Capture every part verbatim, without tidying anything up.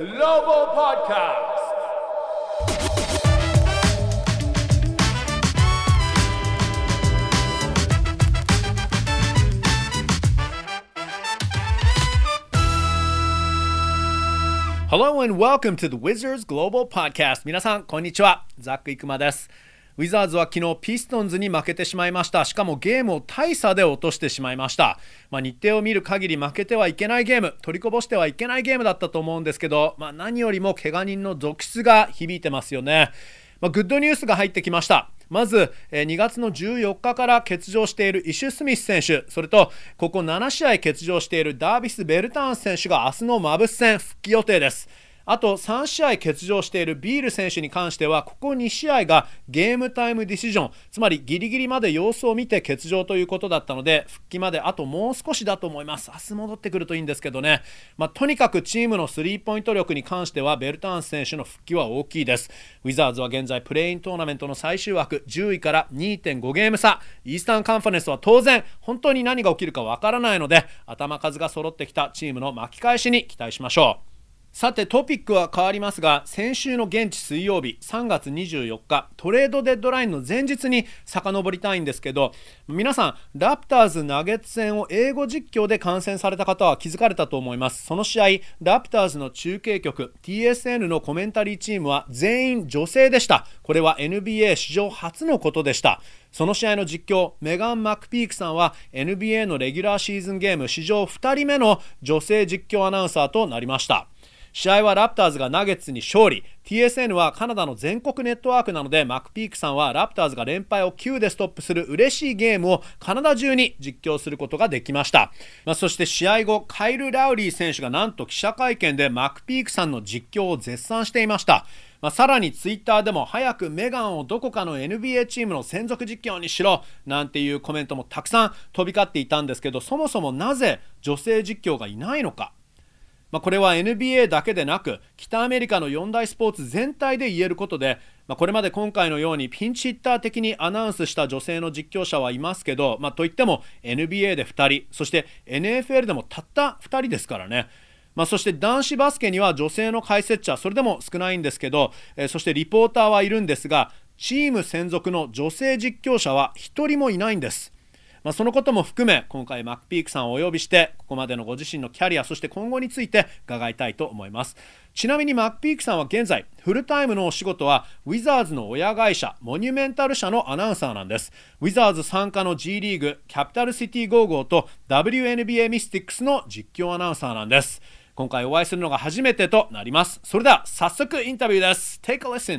Global Podcast. Hello and welcome to the Wizards Global Podcast. 皆さんこんにちは、ザック・イクマです。ウィザーズは昨日ピストンズに負けてしまいました。しかもゲームを大差で落としてしまいました。まあ、日程を見る限り負けてはいけないゲーム、取りこぼしてはいけないゲームだったと思うんですけど、まあ、何よりも怪我人の続出が響いてますよね。まあ、グッドニュースが入ってきました。まずにがつのじゅうよっかから欠場しているイシュ・スミス選手、それとここななしあい欠場しているダービス・ベルターン選手が明日のマブス戦復帰予定です。あとさんしあい欠場しているビール選手に関してはここにしあいがゲームタイムディシジョン、つまりギリギリまで様子を見て欠場ということだったので、復帰まであともう少しだと思います。明日戻ってくるといいんですけどね、まあ、とにかくチームのスリーポイント力に関してはベルターン選手の復帰は大きいです。ウィザーズは現在プレイントーナメントの最終枠じゅういから にてんご ゲーム差、イースタンカンファレンスは当然本当に何が起きるかわからないので、頭数が揃ってきたチームの巻き返しに期待しましょう。さてトピックは変わりますが、先週の現地水曜日さんがつにじゅうよっかトレードデッドラインの前日に遡りたいんですけど、皆さんラプターズナゲッツ戦を英語実況で観戦された方は気づかれたと思います。その試合ラプターズの中継局 ティーエスエヌ のコメンタリーチームは全員女性でした。これは エヌビーエー 史上初のことでした。その試合の実況メガン・マクピークさんは エヌビーエー のレギュラーシーズンゲーム史上ふたりめの女性実況アナウンサーとなりました。試合はラプターズがナゲッツに勝利。 ティーエスエヌ はカナダの全国ネットワークなので、マクピークさんはラプターズが連敗をきゅうでストップする嬉しいゲームをカナダ中に実況することができました。まあ、そして試合後カイル・ラウリー選手がなんと記者会見でマクピークさんの実況を絶賛していました。まあ、さらにツイッターでも早くメガンをどこかの エヌビーエー チームの専属実況にしろなんていうコメントもたくさん飛び交っていたんですけど、そもそもなぜ女性実況がいないのか。まあ、これは エヌビーエー だけでなく北アメリカのよん大スポーツ全体で言えることで、まあ、これまで今回のようにピンチヒッター的にアナウンスした女性の実況者はいますけど、まあ、といっても エヌビーエー でふたり、そして エヌエフエル でもたったふたりですからね。まあ、そして男子バスケには女性の解説者それでも少ないんですけど、えー、そしてリポーターはいるんですが、チーム専属の女性実況者はひとりもいないんです。まあ、そのことも含め今回マクピークさんをお呼びしてここまでのご自身のキャリアそして今後について伺いたいと思います。ちなみにマクピークさんは現在フルタイムのお仕事はウィザーズの親会社モニュメンタル社のアナウンサーなんです。ウィザーズ参加の G リーグキャピタルシティゴーゴーと ダブリューエヌビーエー ミスティックスの実況アナウンサーなんです。今回お会いするのが初めてとなります。それでは早速インタビューです。 Take a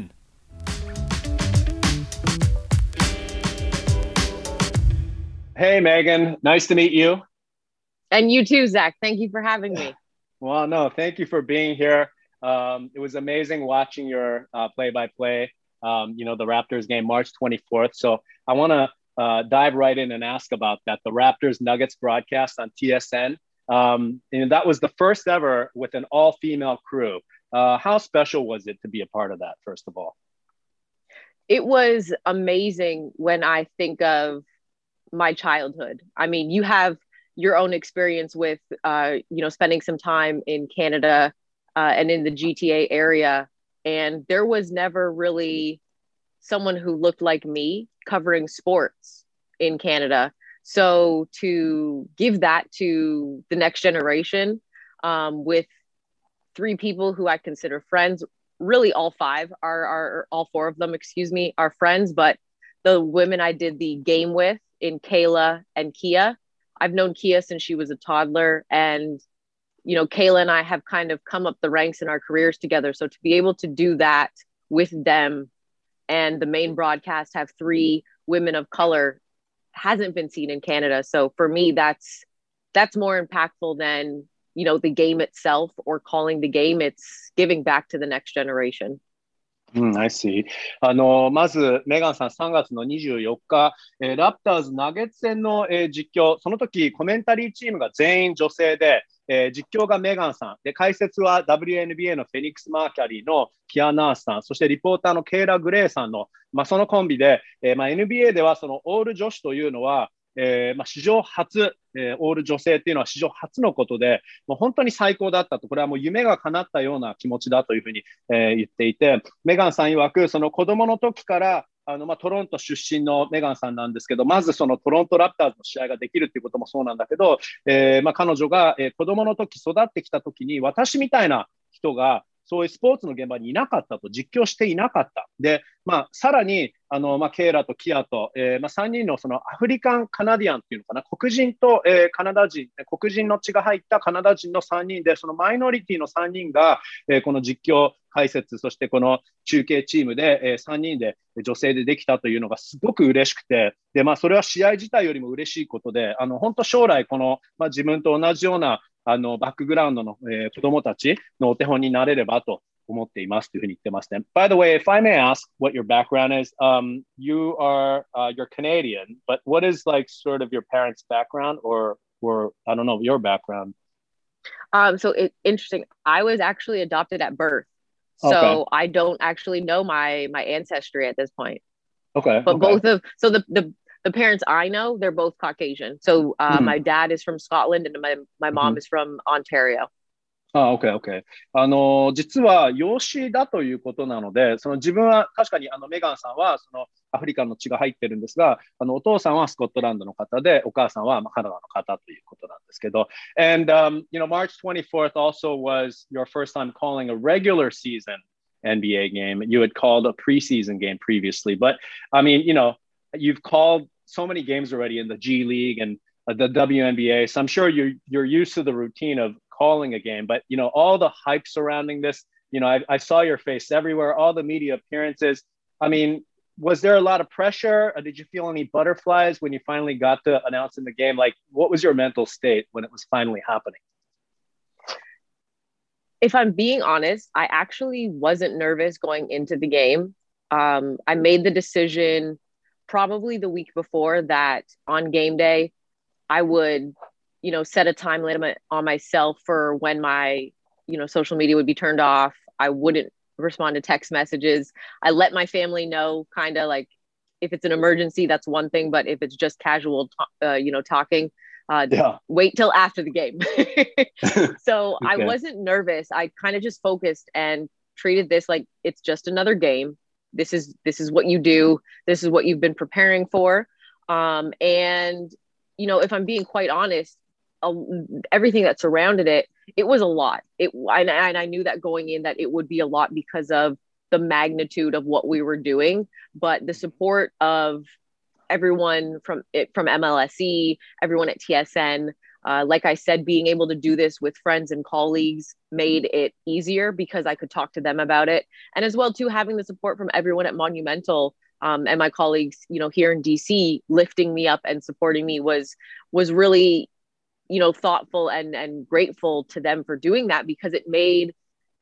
listen。Hey Megan, nice to meet you. And you too, Zach. Thank you for having me. Well, no, thank you for being here. Um, it was amazing watching your uh, play-by-play, um, you know, the Raptors game March twenty-fourth. So I want to uh, dive right in and ask about that. The Raptors Nuggets broadcast on T S N. Um, and that was the first ever with an all-female crew. Uh, how special was it to be a part of that, first of all? It was amazing when I think of my childhood. I mean, you have your own experience with, uh, you know, spending some time in Canada uh, and in the G T A area. And there was never really someone who looked like me covering sports in Canada. So to give that to the next generation um, with three people who I consider friends, really all five are, are all four of them, excuse me, are friends, but the women I did the game with in Kayla and Kia. I've known Kia since she was a toddler, and you know, Kayla and I have kind of come up the ranks in our careers together. So to be able to do that with them and the main broadcast have three women of color hasn't been seen in Canada. So for me, that's that's more impactful than, you know, the game itself or calling the game. It's giving back to the next generation. うん、I see. あの、まず、メガンさんさんがつのにじゅうよっか、えー、ラプターズナゲッツ戦の、えー、実況、その時コメンタリーチームが全員女性で、えー、実況がメガンさん、で、解説は ダブリューエヌビーエー のフェニックス・マーキャリーのキア・ナースさん、そしてリポーターのケイラ・グレイさんの、まあ、そのコンビで、えーまあ、エヌビーエー ではそのオール女子というのは、 えーまあ、史上初、えー、オール女性っていうのは史上初のことで、もう本当に最高だったと、これはもう夢が叶ったような気持ちだというふうに、えー、言っていて、メガンさん曰く、その子供の時からあのまあ、トロント出身のメガンさんなんですけど、まずそのトロントラプターズの試合ができるっていうこともそうなんだけど、えーまあ、彼女が、えー、子供の時育ってきた時に私みたいな人がそういうスポーツの現場にいなかったと、実況していなかった。で、まあ、さらに、あの、まあ、ケイラとキアと、えー、まあ、さんにんのそのアフリカンカナディアンっていうのかな、黒人と、えー、カナダ人、黒人の血が入ったカナダ人のさんにんで、そのマイノリティのさんにんが、えー、この実況解説、そしてこの中継チームで、えー、さんにんで女性でできたというのがすごく嬉しくて、で、まあ、それは試合自体よりも嬉しいことで、あの、本当将来この、まあ、自分と同じようなあのバックグラウンドの、えー、子供たちのお手本になれればと思っていますというふうに言ってますね。By the way, if I may ask what your background is, um, you are uh, you're Canadian, but what is like sort of your parents' background or or I don't know your background? Um, so it's interesting. I was actually adopted at birth, so okay. I don't actually know my my ancestry at this point. Okay. But okay. both of so the the the parents I know, they're both Caucasian. So uh, mm-hmm. my dad is from Scotland and my my mom mm-hmm. is from Ontario. ああ、OK、OK。あの、実は養子だということなので、その自分は確かにあのメガンさんはそのアフリカの血が入ってるんですが、あのお父さんはスコットランドの方で、お母さんはカナダの方ということなんですけど。And, um, you know, March twenty-fourth also was your first time calling a regular season N B A game. You had called a preseason game previously, but I mean, you know, you've called so many games already in the G League and the W N B A, so I'm sure you're you're used to the routine of calling a game, but you know all the hype surrounding this. You know, I, I saw your face everywhere, all the media appearances. I mean, was there a lot of pressure? Or did you feel any butterflies when you finally got to announcing the game? Like, what was your mental state when it was finally happening? If I'm being honest, I actually wasn't nervous going into the game. Um, I made the decision probably the week before that on game day, I would, you know, set a time limit on myself for when my, you know, social media would be turned off. I wouldn't respond to text messages. I let my family know kind of like if it's an emergency, that's one thing. But if it's just casual, uh, you know, talking, uh, yeah. wait till after the game. So okay. I wasn't nervous. I kind of just focused and treated this like it's just another game. This is, this is what you do. This is what you've been preparing for. Um, and, you know, if I'm being quite honest, uh, everything that surrounded it, it was a lot. It and, and I knew that going in that it would be a lot because of the magnitude of what we were doing, but the support of everyone from it from M L S E, everyone at T S N, uh, like I said, being able to do this with friends and colleagues made it easier because I could talk to them about it, and as well too having the support from everyone at Monumental. Um, and my colleagues, you know, here in D C, lifting me up and supporting me was was really, you know, thoughtful and and grateful to them for doing that because it made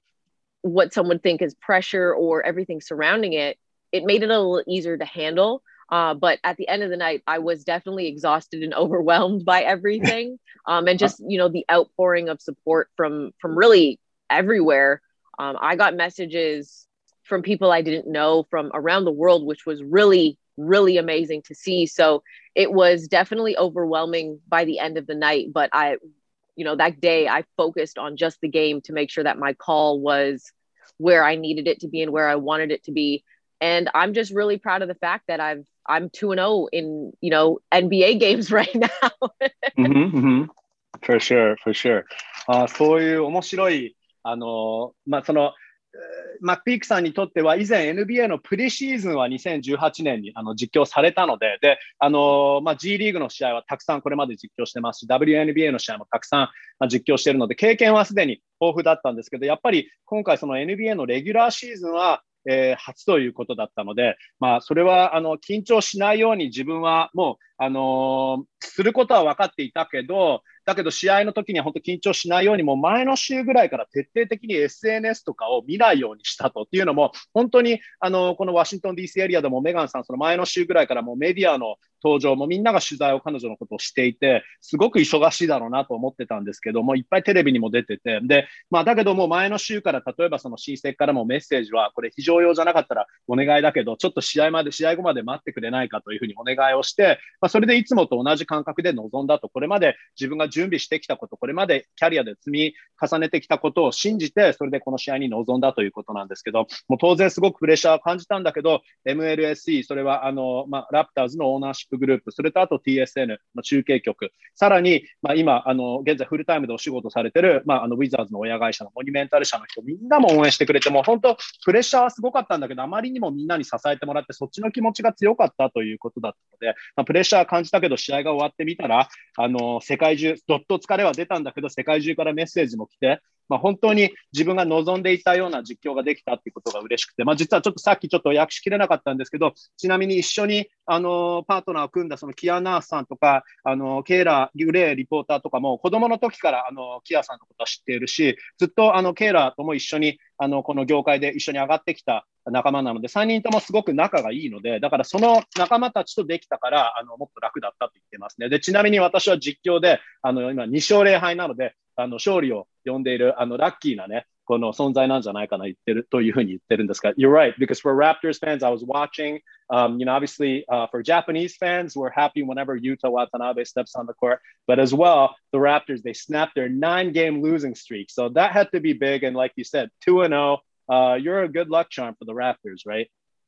what some would think is pressure or everything surrounding it, it made it a little easier to handle. Uh, but at the end of the night, I was definitely exhausted and overwhelmed by everything, um, and just you know the outpouring of support from from really everywhere. Um, I got messages from people I didn't know from around the world, which was really, really amazing to see. So it was definitely overwhelming by the end of the night. But I, you know, that day I focused on just the game to make sure that my call was where I needed it to be and where I wanted it to be. And I'm just really proud of the fact that I've, I'm two and oh in, you know, N B A games right now. mm-hmm, mm-hmm. For sure, for sure. あ、そういう面白い、あの、まあ、その、マックピークさんにとっては以前 エヌビーエー のプレシーズンはにせんじゅうはちねんにあの実況されたので、で、あの、まあ、G リーグの試合はたくさんこれまで実況してますし、ダブリューエヌビーエー の試合もたくさん実況しているので、経験はすでに豊富だったんですけど、やっぱり今回その エヌビーエー のレギュラーシーズンは、えー、初ということだったので、まあ、それはあの緊張しないように自分はもう、あのー、することは分かっていたけど、だけど試合の時には本当緊張しないようにもう前の週ぐらいから徹底的に エスエヌエス とかを見ないようにしたとっていうのも本当にあのこのワシントン ディーシー エリアでもメガンさんその前の週ぐらいからもうメディアの登場もみんなが取材を彼女のことをしていてすごく忙しいだろうなと思ってたんですけどもいっぱいテレビにも出ててで、まあ、だけども前の週から例えばその親戚からもメッセージはこれ非常用じゃなかったらお願いだけどちょっと試合まで試合後まで待ってくれないかというふうにお願いをして、まあ、 それでいつもと同じ感覚で臨んだと、これまで自分が準備してきたこと、これまでキャリアで積み重ねてきたことを信じて、それでこの試合に臨んだということなんですけど、もう当然すごくプレッシャーを感じたんだけど、エムエルエスイー、それはあの、まあ、ラプターズのオーナーシップグループ、それとあと ティーエスエヌ の中継局、さらに、まあ、今、あの、現在フルタイムでお仕事されてる、まあ、あの、ウィザーズの親会社のモニュメンタル社の人、みんなも応援してくれて、もう本当、プレッシャーはすごかったんだけど、あまりにもみんなに支えてもらって、そっちの気持ちが強かったということだったので、まあ、プレッシャー感じたけど、試合が終わってみたら、あの、世界中、どっと疲れは出たんだけど、世界中からメッセージも来て、まあ、本当に自分が望んでいたような実況ができたっていうことが嬉しくて、まあ、実はちょっとさっきちょっと訳しきれなかったんですけど、ちなみに一緒にあのパートナーを組んだそのキアナースさんとか、あのケイラ・グレーリポーターとかも子供の時からあのキアさんのことは知っているし、ずっとあのケイラとも一緒にあのこの業界で一緒に上がってきた仲間なので、さんにんともすごく仲がいいので、だからその仲間たちとできたから、あのもっと楽だったと言ってますね。で、ちなみに私は実況で、あの今に勝ぜろ敗なので、あの勝利を呼んでいるあのラッキーなね、この存在なんじゃないかな言ってるというふうに言ってるんですが、You're right, because for Raptors fans, I was watching, um, you know, obviously uh, for Japanese fans, we're happy whenever Yuta Watanabe steps on the court, but as well, the Raptors, they snapped their nine-game losing streak, so that had to be big, and like you said, two and oh, uh, you're a good luck charm for the Raptors, right?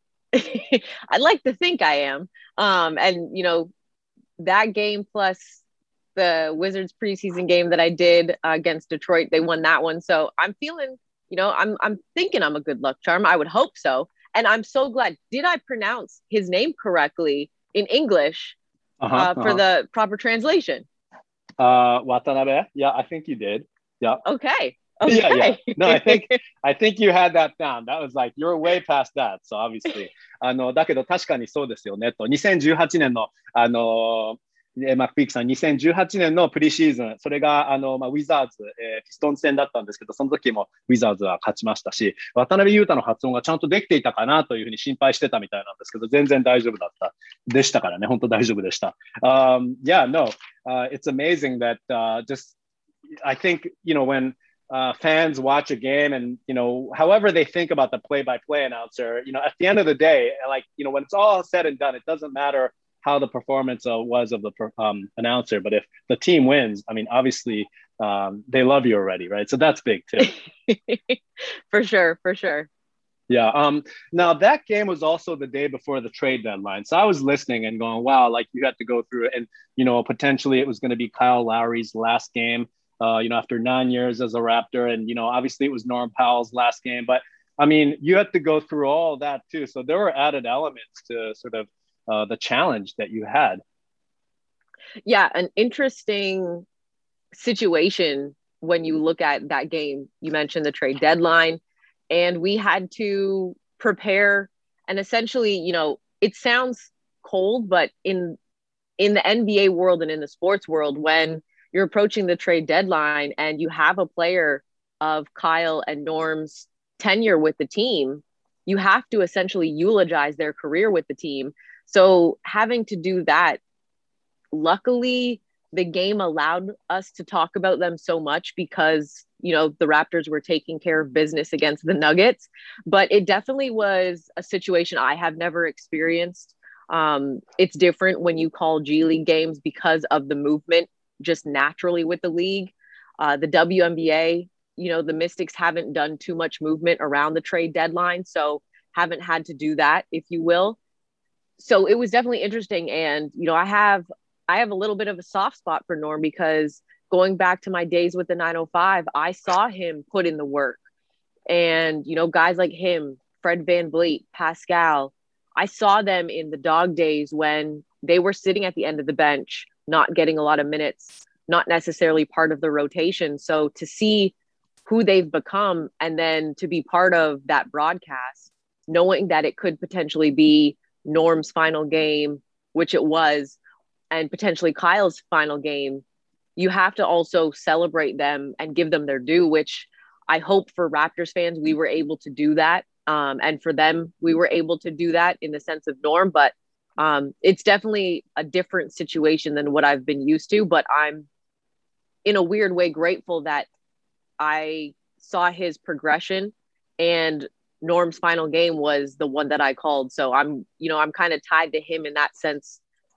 I'd like to think I am, um, and you know, that game plus the Wizards preseason game that I did uh, against Detroit, they won that one. So I'm feeling, you know, I'm I'm thinking I'm a good luck charm. I would hope so. And I'm so glad. Did I pronounce his name correctly in English uh-huh, uh, for uh-huh. the proper translation? Uh, Watanabe. Yeah, I think you did. Yeah. Okay. Okay. Yeah, yeah. No, I think I think you had that down. That was like you're way past that. So obviously, あのだけど確かにそうですよねと。にせんじゅうはちねんのあのマックピークさん、にせんじゅうはちねんのプリシーズン、それがあの、まあ、ウィザーズ、えー、ピストンズ戦だったんですけど、その時もウィザーズは勝ちましたし、渡辺裕太の発音がちゃんとできていたかなというふうに心配してたみたいなんですけど、全然大丈夫だった。でしたからね、本当大丈夫でした。Um, yeah, no, uh, it's amazing that uh, just, I think, you know, when uh, fans watch a game and, you know, however they think about the play-by-play announcer, you know, at the end of the day, like, you know, when it's all said and done, it doesn't matter how the performance uh, was of the um, announcer. But if the team wins, I mean, obviously um, they love you already, right? So that's big too. For sure, for sure. Yeah. Um, now that game was also the day before the trade deadline. So I was listening and going, wow, like you had to go through it. And, you know, potentially it was going to be Kyle Lowry's last game, uh, you know, after nine years as a Raptor. And, you know, obviously it was Norm Powell's last game. But, I mean, you had to go through all that too. So there were added elements to sort of Uh, the challenge that you had. Yeah, an interesting situation when you look at that game. You mentioned the trade deadline, and we had to prepare. And essentially, you know, it sounds cold, but in in the N B A world and in the sports world, when you're approaching the trade deadline and you have a player of Kyle and Norm's tenure with the team, you have to essentially eulogize their career with the team. So having to do that, luckily, the game allowed us to talk about them so much because, you know, the Raptors were taking care of business against the Nuggets. But it definitely was a situation I have never experienced. Um, it's different when you call G League games because of the movement just naturally with the league. Uh, the W N B A, you know, the Mystics haven't done too much movement around the trade deadline, so haven't had to do that, if you will. So it was definitely interesting. And, you know, I have, I have a little bit of a soft spot for Norm because going back to my days with the nine oh five, I saw him put in the work. And, you know, guys like him, Fred VanVleet, Pascal, I saw them in the dog days when they were sitting at the end of the bench, not getting a lot of minutes, not necessarily part of the rotation. So to see who they've become and then to be part of that broadcast, knowing that it could potentially be Norm's final game, which it was, and potentially Kyle's final game, you have to also celebrate them and give them their due, which I hope for Raptors fans, we were able to do that. Um, and for them, we were able to do that in the sense of Norm, but um, it's definitely a different situation than what I've been used to, but I'm in a weird way grateful that I saw his progression and Norm's final game was the one that I called. So I'm, you know, I'm kind of tied to him in that sense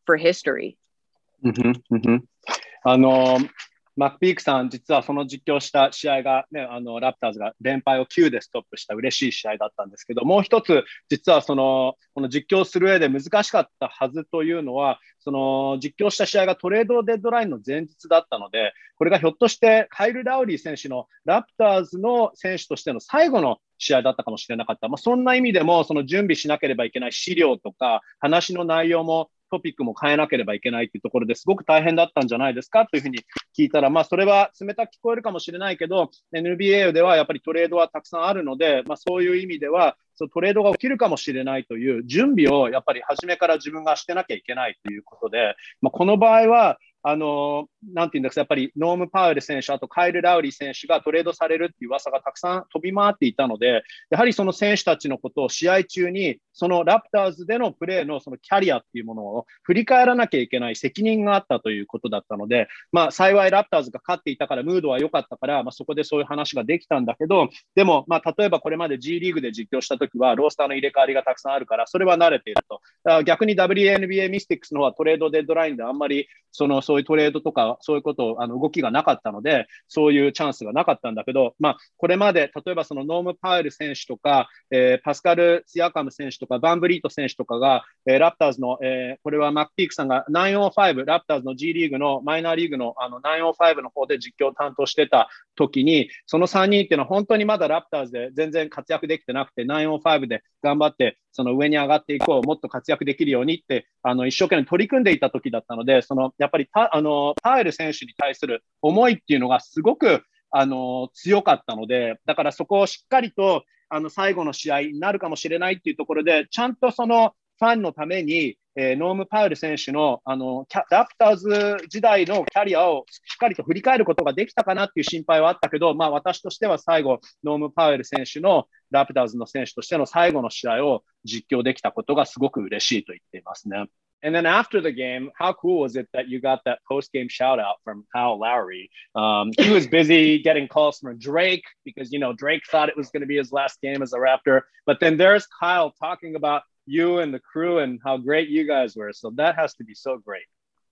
for history. うんふんうんふんあのーマックピークさん、実はその実況した試合が、ね、あのラプターズが連敗をきゅうでストップした嬉しい試合だったんですけど、もう一つ、実はそのこの実況する上で難しかったはずというのは、その実況した試合がトレードデッドラインの前日だったので、これがひょっとしてカイル・ラウリー選手のラプターズの選手としての最後の試合だったかもしれなかった。まあ、そんな意味でも、その準備しなければいけない資料とか、話の内容もトピックも変えなければいけないというところですごく大変だったんじゃないですかというふうに聞いたら、まあ、それは冷たく聞こえるかもしれないけど、エヌビーエー ではやっぱりトレードはたくさんあるので、まあ、そういう意味では、そのトレードが起きるかもしれないという準備をやっぱり初めから自分がしてなきゃいけないということで、まあ、この場合は、あの、なんていうんですか、やっぱりノーム・パウエル選手、あとカイル・ラウリー選手がトレードされるっていう噂がたくさん飛び回っていたので、やはりその選手たちのことを試合中に、そのラプターズでのプレーのそのキャリアっていうものを振り返らなきゃいけない責任があったということだったので、まあ幸いラプターズが勝っていたから、ムードは良かったから、まあそこでそういう話ができたんだけど、でもまあ例えばこれまで G リーグで実況したときは、ロースターの入れ替わりがたくさんあるから、それは慣れていると。だから逆に ダブリューエヌビーエー ミスティックスの方はトレードデッドラインであんまりそのそういうトレードとかそういうことあの動きがなかったので、そういうチャンスがなかったんだけど、まあこれまで例えばそのノーム・パウエル選手とか、えー、パスカル・シアカム選手とか、バンブリート選手とかが、えー、ラプターズの、えー、これはマックピークさんがきゅうまるご、ラプターズの G リーグのマイナーリーグのあのきゅうまるごの方で実況を担当してた時に、そのさんにんっていうのは本当にまだラプターズで全然活躍できてなくて、きゅうまるごで頑張ってその上に上がっていこう、もっと活躍できるようにってあの一生懸命取り組んでいた時だったので、そのやっぱりあのパウエル選手に対する思いっていうのがすごくあの強かったので、だからそこをしっかりとあの最後の試合になるかもしれないっていうところで、ちゃんとそのファンのために、えー、ノーム・パウエル選手のあのラプターズ時代のキャリアをしっかりと振り返ることができたかなっていう心配はあったけど、まあ、私としては最後、ノーム・パウエル選手のラプターズの選手としての最後の試合を実況できたことがすごく嬉しいと言っていますね。And then after the game, how cool was it that you got that post-game shout-out from Kyle Lowry? Um, he was busy getting calls from Drake because, you know, Drake thought it was going to be his last game as a Raptor. But then there's Kyle talking about you and the crew and how great you guys were. So that has to be so great.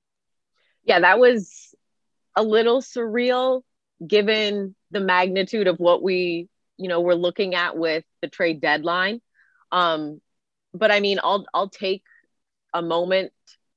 Yeah, that was a little surreal given the magnitude of what we, you know, we're looking at with the trade deadline. Um, but I mean, I'll I'll take a moment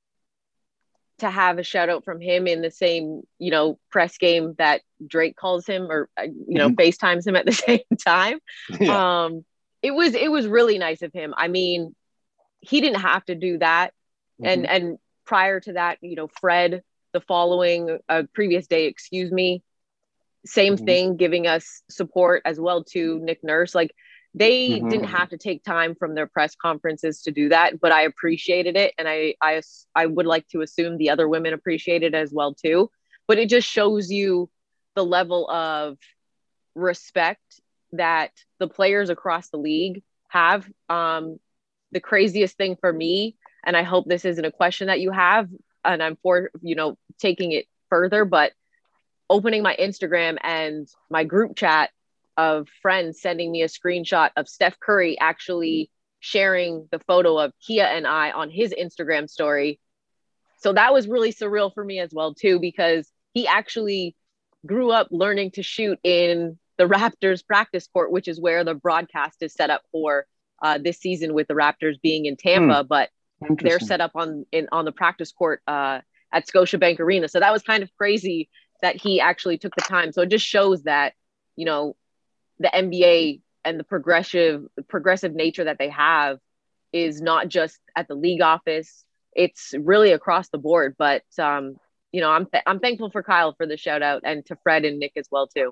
to have a shout out from him in the same, you know, press game that Drake calls him or, you know, FaceTimes him at the same time. Yeah. Um, it was, it was really nice of him. I mean, he didn't have to do that. Mm-hmm. And, and prior to that, you know, Fred, the following uh, previous day, excuse me, same mm-hmm. thing, giving us support as well to Nick Nurse. Like, they mm-hmm. didn't have to take time from their press conferences to do that, but I appreciated it. And I, I, I would like to assume the other women appreciated it as well too, but it just shows you the level of respect that the players across the league have. Um, the craziest thing for me, and I hope this isn't a question that you have, and I'm for, you know, taking it further, but opening my Instagram and my group chat of friends sending me a screenshot of Steph Curry actually sharing the photo of Kia and I on his Instagram story. So that was really surreal for me as well too, because he actually grew up learning to shoot in the Raptors practice court, which is where the broadcast is set up for uh, this season with the Raptors being in Tampa, hmm. but they're set up on in on the practice court uh, at Scotiabank Arena. So that was kind of crazy that he actually took the time. So it just shows that, you know, the N B A and the progressive progressive nature that they have is not just at the league office. It's really across the board. But, um, you know, I'm th- I'm thankful for Kyle for the shout out and to Fred and Nick as well, too.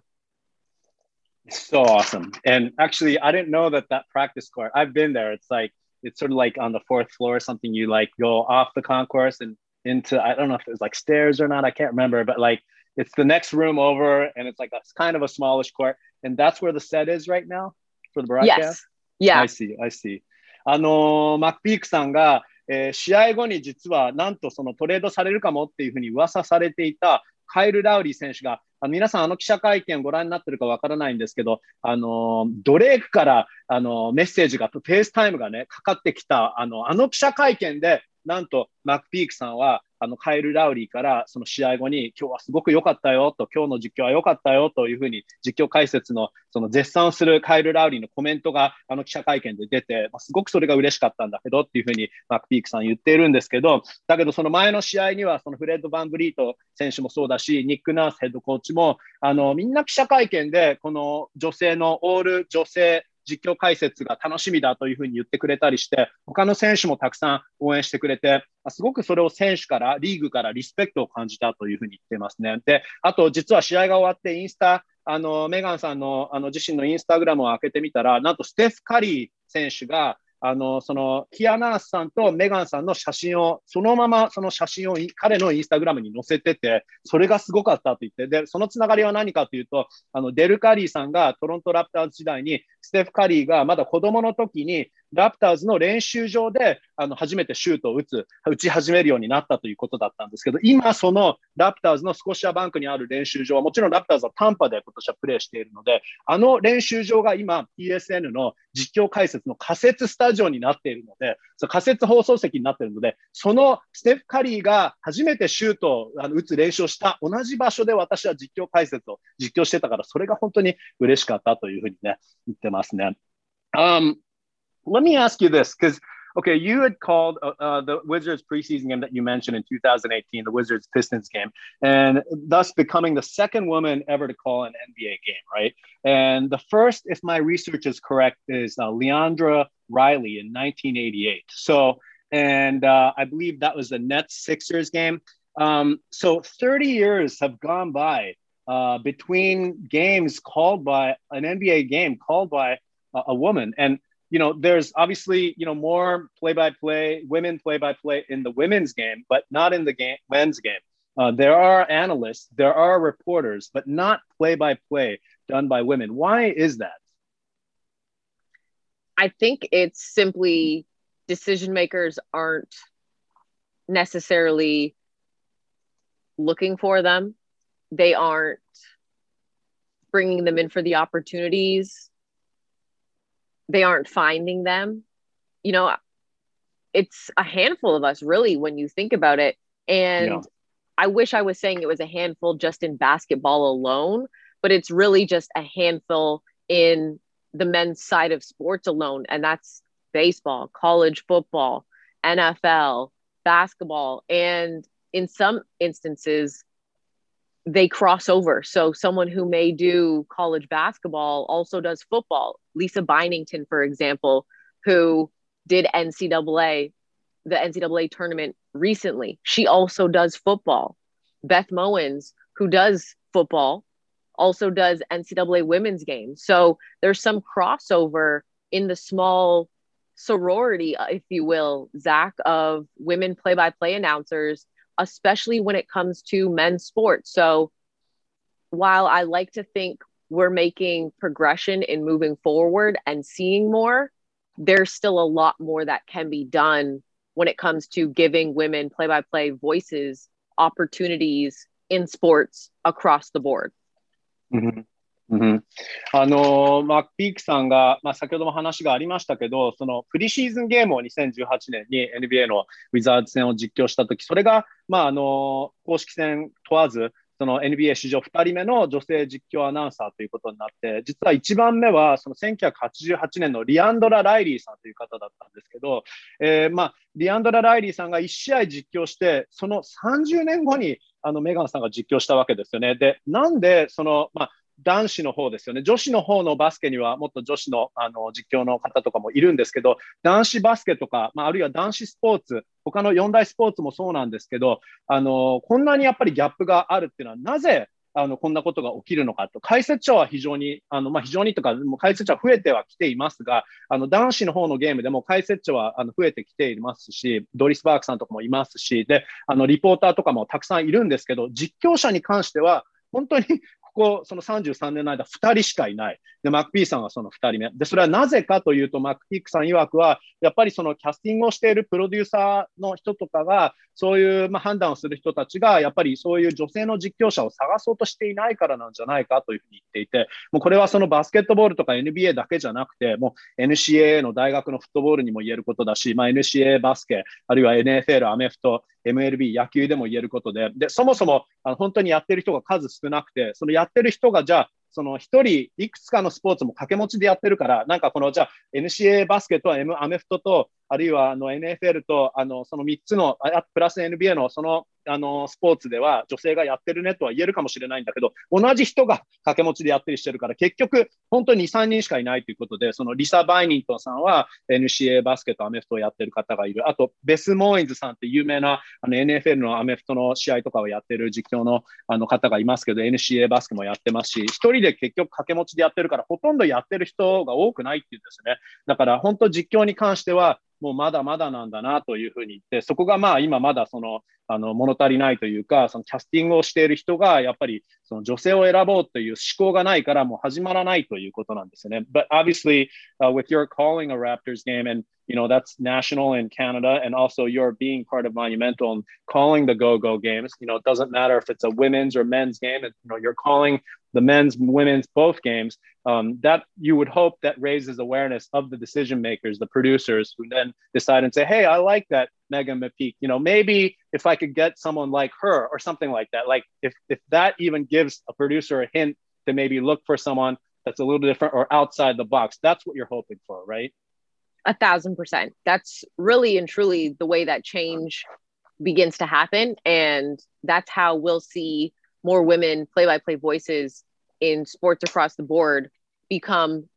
So awesome. And actually, I didn't know that that practice court, I've been there. It's like, it's sort of like on the fourth floor or something. You like go off the concourse and into, I don't know if it was like stairs or not. I can't remember, but like, it's the next room over and it's like a kind of a smallish court. And that's where the set is right now for the broadcast? Yes. Yeah. I see, I see. あのー、マックピークさんが、えー、試合後に実はなんとそのトレードされるかもっていうふうに噂されていたカイル・ラウリー選手が、あの皆さんあの記者会見をご覧になってるかわからないんですけど、あのー、ドレークから、あのー、メッセージが、フェイスタイムがね、かかってきた、あの、あの記者会見で、 なんとマックピークさんはあのカイル・ラウリーからその試合後に今日はすごく良かったよと、今日の実況は良かったよというふうに実況解説のその絶賛するカイル・ラウリーのコメントがあの記者会見で出て、まあ、すごくそれが嬉しかったんだけどっていうふうにマックピークさん言っているんですけど、だけどその前の試合にはそのフレッド・バンブリート選手もそうだし、ニック・ナースヘッドコーチもあのみんな記者会見でこの女性のオール女性実況解説が楽しみだというふうに言ってくれたりして、他の選手もたくさん応援してくれて、すごくそれを選手から、リーグからリスペクトを感じたというふうに言ってますね。で、あと実は試合が終わってインスタ、あの、メガンさんのあの自身のインスタグラムを開けてみたら、なんとステフ・カリー選手が、あの、その、キアナースさんとメガンさんの写真を、そのままその写真を彼のインスタグラムに載せてて、それがすごかったと言って、で、そのつながりは何かというと、あの、デル・カリーさんがトロント・ラプターズ時代に、ステフ・カリーがまだ子供の時に、ラプターズの練習場であの初めてシュートを打つ、打ち始めるようになったということだったんですけど、今そのラプターズのスコシアバンクにある練習場は、もちろんラプターズはタンパで今年はプレーしているので、あの練習場が今 ピーエスエヌ の実況解説の仮設スタジオになっているので、その仮設放送席になっているので、そのステフ・カリーが初めてシュートをあの打つ練習をした同じ場所で私は実況解説を実況してたから、それが本当に嬉しかったというふうにね、言ってますね。Um, Let me ask you this, because, okay, you had called uh, uh, the Wizards preseason game that you mentioned in two thousand eighteen, the Wizards Pistons game, and thus becoming the second woman ever to call an N B A game, right? And the first, if my research is correct, is uh, Leandra Riley in nineteen eighty-eight. So, and uh, I believe that was the Nets Sixers game. Um, so thirty years have gone by uh, between games called by an N B A game called by a, a woman. And you know, there's obviously, you know, more play-by-play, women play-by-play in the women's game, but not in the game, men's game. Uh, there are analysts, there are reporters, but not play-by-play done by women. Why is that? I think it's simply decision makers aren't necessarily looking for them. They aren't bringing them in for the opportunities. They aren't finding them. You know, it's a handful of us, really, when you think about it. And yeah. I wish I was saying it was a handful just in basketball alone, but it's really just a handful in the men's side of sports alone. And that's baseball, college football, N F L, basketball. And in some instances, they cross over. So someone who may do college basketball also does football. Lisa Bynington, for example, who did N C double A, the N C double A tournament recently. She also does football. Beth Mowins, who does football, also does N C double A women's games. So there's some crossover in the small sorority, if you will, Zach, of women play-by-play announcers, especially when it comes to men's sports. So while I like to think we're making progression in moving forward and seeing more, there's still a lot more that can be done when it comes to giving women play-by-play voices, opportunities in sports across the board. Mm-hmm. うん、あのマック・ピークさんが、まあ、先ほども話がありましたけど、そのプリシーズンゲームをにせんじゅうはちねんに エヌビーエー のウィザーズ戦を実況したとき、それが、まあ、あの公式戦問わず、その エヌビーエー 史上ふたりめの女性実況アナウンサーということになって、実はいちばんめはそのせんきゅうひゃくはちじゅうはちねんのリアンドラ・ライリーさんという方だったんですけど、えーまあ、リアンドラ・ライリーさんがいち試合実況して、そのさんじゅうねんごにあのメガンさんが実況したわけですよね。で、なんでその、まあ男子の方ですよね。女子の方のバスケにはもっと女子の、あの実況の方とかもいるんですけど、男子バスケとか、まあ、あるいは男子スポーツ、他の四大スポーツもそうなんですけど、あのこんなにやっぱりギャップがあるっていうのはなぜあのこんなことが起きるのかと。解説者は非常に、あのまあ、非常にとか、もう解説者は増えてはきていますが、あの男子の方のゲームでも解説者はあの増えてきていますし、ドリス・バークさんとかもいますし、で、あのリポーターとかもたくさんいるんですけど、実況者に関しては本当にこそのさんじゅうさんねんの間ふたりしかいない。で、マクピーさんはそのふたりめ。で、それはなぜかというと、マクピークさん曰くは、やっぱりそのキャスティングをしているプロデューサーの人とかが、そういうまあ判断をする人たちが、やっぱりそういう女性の実況者を探そうとしていないからなんじゃないかというふうに言っていて、もうこれはそのバスケットボールとか エヌビーエー だけじゃなくて、もう エヌシーエー の大学のフットボールにも言えることだし、まあ、エヌシーエー バスケ、あるいは エヌエフエル、アメフト、エムエルビー、野球でも言えることで、で、そもそもあの本当にやってる人が数少なくて、そのやってる人がじゃあ、その一人いくつかのスポーツも掛け持ちでやってるから、なんかこのじゃあ エヌシーエー バスケと M アメフトと、あるいはあの エヌエフエル とあのそのみっつのプラス エヌビーエー のそのあのスポーツでは女性がやってるねとは言えるかもしれないんだけど、同じ人が掛け持ちでやったりしてるから、結局本当にに、さんにんしかいないということで、そのリサ・バイニントンさんは エヌシーエー バスケとアメフトをやってる方がいる。あとベス・モーインズさんって有名なあの エヌエフエル のアメフトの試合とかをやってる実況のあの方がいますけど、 エヌシーエー バスケもやってますし、一人で結局掛け持ちでやってるから、ほとんどやってる人が多くないっていうんですね。だから本当実況に関してはもうまだまだなんだなというふうに言って、そこがまあ今まだそのあの物足りないというか、そのキャスティングをしている人がやっぱりその女性を選ぼうという思考がないからもう始まらないということなんですよね。But obviously, uh, with your calling a Raptors game and you know that's national in Canada, and also you're being part of Monumental and calling the go-go games. You know, it doesn't matter if it's a women's or men's game. You know, you're calling the men's, women's, both games. Um, that you would hope that raises awareness of the decision makers, the producers, who then decide and say, "Hey, I like that Megan McPeak. You know, maybe if I could get someone like her or something like that. Like if if that even gives a producer a hint to maybe look for someone that's a little different or outside the box, that's what you're hoping for, right?" A thousand percent. That's really and truly the way that change begins to happen. And that's how we'll see more women play-by-play voices in sports across the board become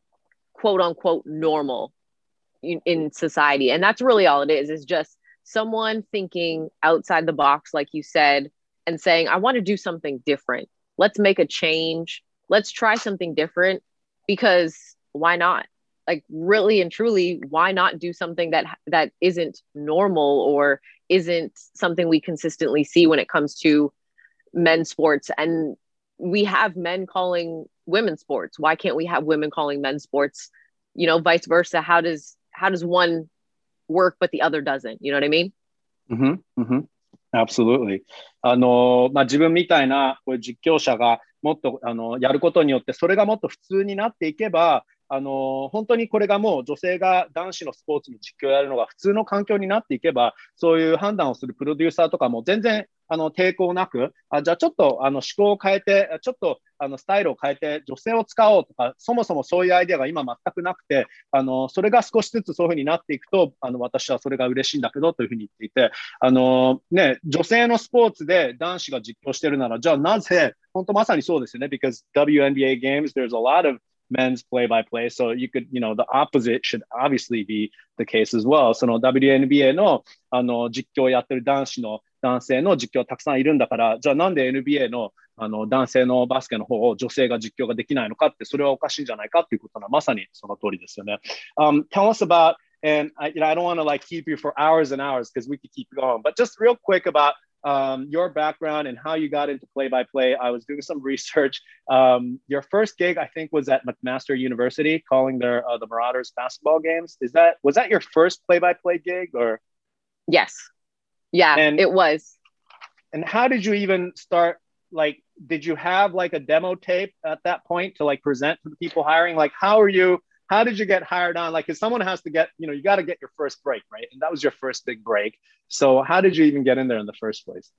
quote unquote normal in, in society. And that's really all it is, is just someone thinking outside the box, like you said, and saying, I want to do something different. Let's make a change. Let's try something different, because why not? Like really and truly, why not do something that that isn't normal or isn't something we consistently see when it comes to men's sports? And we have men calling women's sports. Why can't we have women calling men's sports? You know, vice versa. How does how does one work but the other doesn't? You know what I mean? Mm-hmm, mm-hmm. Absolutely. あの、まあ、自分みたいなこういう実況者がもっとあのやることによって、それがもっと普通になっていけば、あの本当にこれがもう女性が男子のスポーツの実況をやるのが普通の環境になっていけば、そういう判断をするプロデューサーとかも全然あの抵抗なく、あじゃあちょっとあの思考を変えて、ちょっとあのスタイルを変えて女性を使おうとか、そもそもそういうアイデアが今全くなくて、あのそれが少しずつそういうふうになっていくと、あの私はそれが嬉しいんだけどというふうに言っていて、あの、ね、女性のスポーツで男子が実況してるなら、じゃあなぜ、本当まさにそうですよね。Because ダブリューエヌビーエー games, there's a lot of men's play-by-play. So you could, you know, the opposite should obviously be the case as well. その ダブリューエヌビーエー のあの実況をやってる男子の男性の実況たくさんいるんだから、じゃあなんで エヌビーエー のあの男性のバスケの方を女性が実況ができないのかって、それはおかしいんじゃないかっていうことはまさにその通りですよね。Um, tell us about, and I, you know, I don't want to like keep you for hours and hours because we could keep going, but just real quick about Um, your background and how you got into play-by-play. I was doing some research. Um, your first gig, I think, was at McMaster University, calling their uh, the Marauders basketball games. Is that was that your first play-by-play gig, or? Yes. Yeah, and, it was. And how did you even start? Like, did you have like a demo tape at that point to like present to the people hiring? Like, how are you? How did you get hired on? Like, because someone has to get, you know, you got to get your first break, right? And that was your first big break. So how did you even get in there in the first place?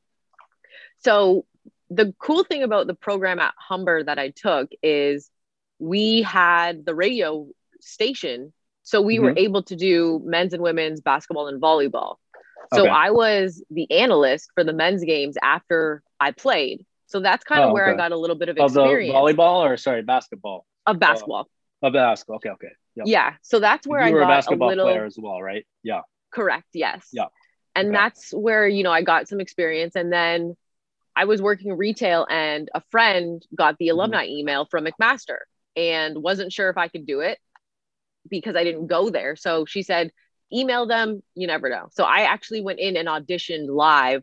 So the cool thing about the program at Humber that I took is we had the radio station. So we mm-hmm. were able to do men's and women's basketball and volleyball. So okay. I was the analyst for the men's games after I played. So that's kind of oh, where okay. I got a little bit of experience. Of the volleyball or sorry, basketball? Of basketball. Uh, Of basketball. Okay, okay. Yep. Yeah. So that's where you I were got a basketball a little player as well, right? Yeah. Correct. Yes. Yeah. And okay. that's where, you know, I got some experience. And then I was working retail and a friend got the alumni mm-hmm. email from McMaster and wasn't sure if I could do it because I didn't go there. So she said, email them. You never know. So I actually went in and auditioned live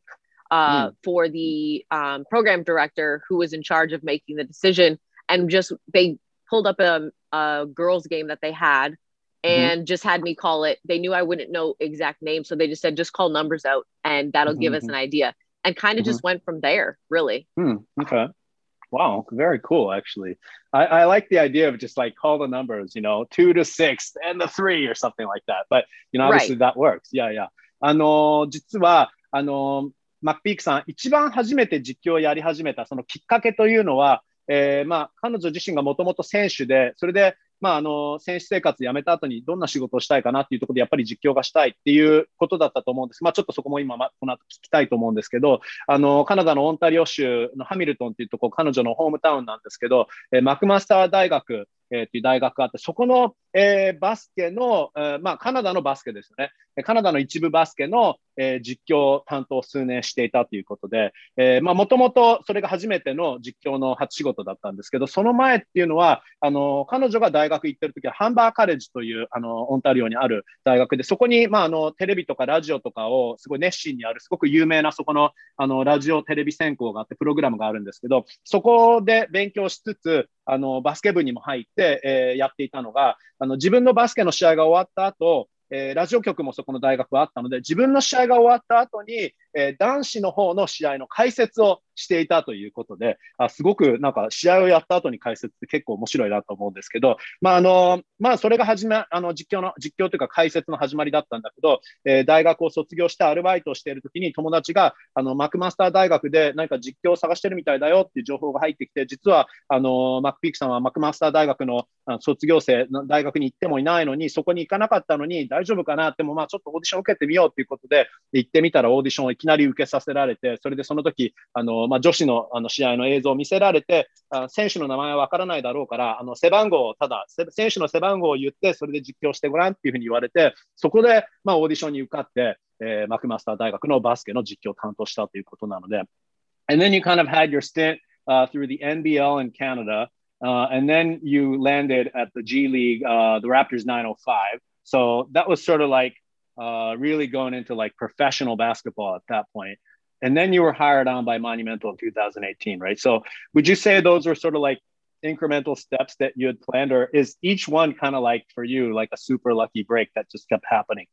uh, Mm. for the um, program director who was in charge of making the decision. And just they pulled up a, a girls' game that they had Mhm. and just had me call it. They knew I wouldn't know exact names, so they just said, just call numbers out and that'll give us an Mhm. idea. And kind of Mhm. just went from there, really. Hmm. Okay. Wow. Very cool, actually. I, I like the idea of just like call the numbers, you know, two to six and the three or something like that. But, you know, obviously Right. that works. Yeah, yeah.あの、実は、あの、マックピークさん、一番初めて実況をやり始めたそのきっかけというのは、えー、まあ、彼女自身がもともと選手で、それで、まあ、あの、選手生活辞めた後にどんな仕事をしたいかなっていうところで、やっぱり実況がしたいっていうことだったと思うんです。まあ、ちょっとそこも今、ま、この後聞きたいと思うんですけど、あの、カナダのオンタリオ州のハミルトンっていうところ、彼女のホームタウンなんですけど、えー、マクマスター大学、えー、っていう大学があって、そこの、えー、バスケの、えー、まあ、カナダのバスケですよね。カナダの一部バスケの、えー、実況担当を数年していたということで、えー、まあ、もともとそれが初めての実況の初仕事だったんですけど、その前っていうのは、あの、彼女が大学行ってる時は、ハンバーカレッジという、あの、オンタリオにある大学で、そこに、まあ、あの、テレビとかラジオとかをすごい熱心にある、すごく有名なそこの、あの、ラジオテレビ専攻があって、プログラムがあるんですけど、そこで勉強しつつ、あの、バスケ部にも入って、えー、やっていたのが、あの、自分のバスケの試合が終わった後、えー、ラジオ局もそこの大学はあったので、自分の試合が終わった後に、えー、男子の方の試合の解説をしていたということで、あ、すごくなんか試合をやった後に解説って結構面白いなと思うんですけど、まああの、まあそれが始め、あの実況の、実況というか解説の始まりだったんだけど、えー、大学を卒業してアルバイトをしている時に友達が、あの、マクマスター大学で何か実況を探してるみたいだよっていう情報が入ってきて、実は、あの、マックピークさんはマクマスター大学の卒業生の大学に行ってもいないのに、そこに行かなかったのに大丈夫かなって、もまあちょっとオーディション受けてみようということで、行ってみたらオーディションをいきなり受けさせられて、それでその時、あの、まあ女子のあの試合の映像を見せられて、あ選手の名前はわからないだろうから、あの背番号をただ、選手の背番号を言って、それで実況してごらんっていうふうに言われて、そこでまあオーディションに受かって、えー、マクマスター大学のバスケの実況を担当したということなので、And then you kind of had your stint uh, through the N B L in Canada. Uh, and then you landed at the G League, uh, the Raptors nine oh five. So that was sort of like uh, really going into like professional basketball at that point. And then you were hired on by Monumental in two thousand eighteen, right? So would you say those were sort of like incremental steps that you had planned, or is each one kind of like for you, like a super lucky break that just kept happening?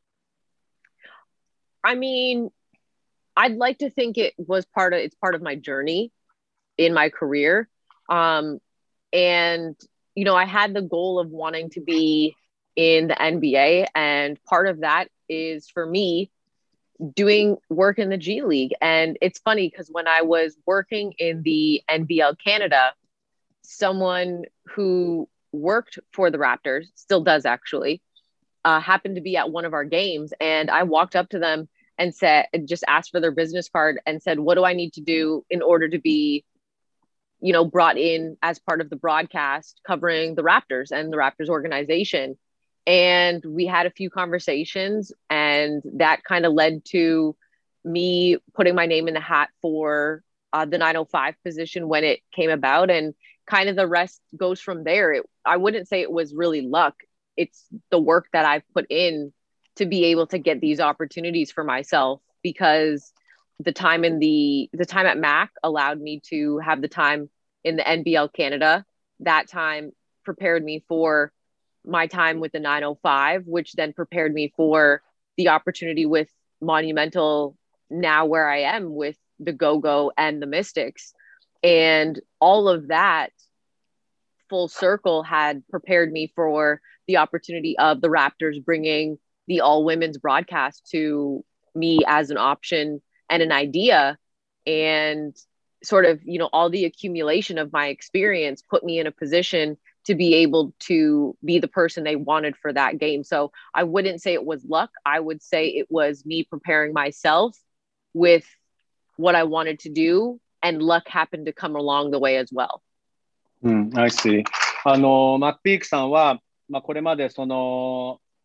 I mean, I'd like to think it was part of, it's part of my journey in my career. Um, And, you know, I had the goal of wanting to be in the N B A. And part of that is for me doing work in the G League. And it's funny because when I was working in the N B L Canada, someone who worked for the Raptors, still does actually, uh, happened to be at one of our games. And I walked up to them and said, just asked for their business card and said, what do I need to do in order to be, you know, brought in as part of the broadcast covering the Raptors and the Raptors organization. And we had a few conversations, and that kind of led to me putting my name in the hat for uh, the nine oh five position when it came about. And kind of the rest goes from there. It, I wouldn't say it was really luck. It's the work that I've put in to be able to get these opportunities for myself, because the time in the the time at Mac allowed me to have the time in the N B L Canada. That time prepared me for my time with the nine oh five, which then prepared me for the opportunity with Monumental, now where I am with the Go-Go and the Mystics. And all of that full circle had prepared me for the opportunity of the Raptors bringing the all women's broadcast to me as an option and an idea. And sort of, you know, all the accumulation of my experience put me in a position to be able to be the person they wanted for that game. So I wouldn't say it was luck. I would say it was me preparing myself with what I wanted to do, and luck happened to come along the way as well. うん、I see. あの、マックピークさんは、まあ、これまでその、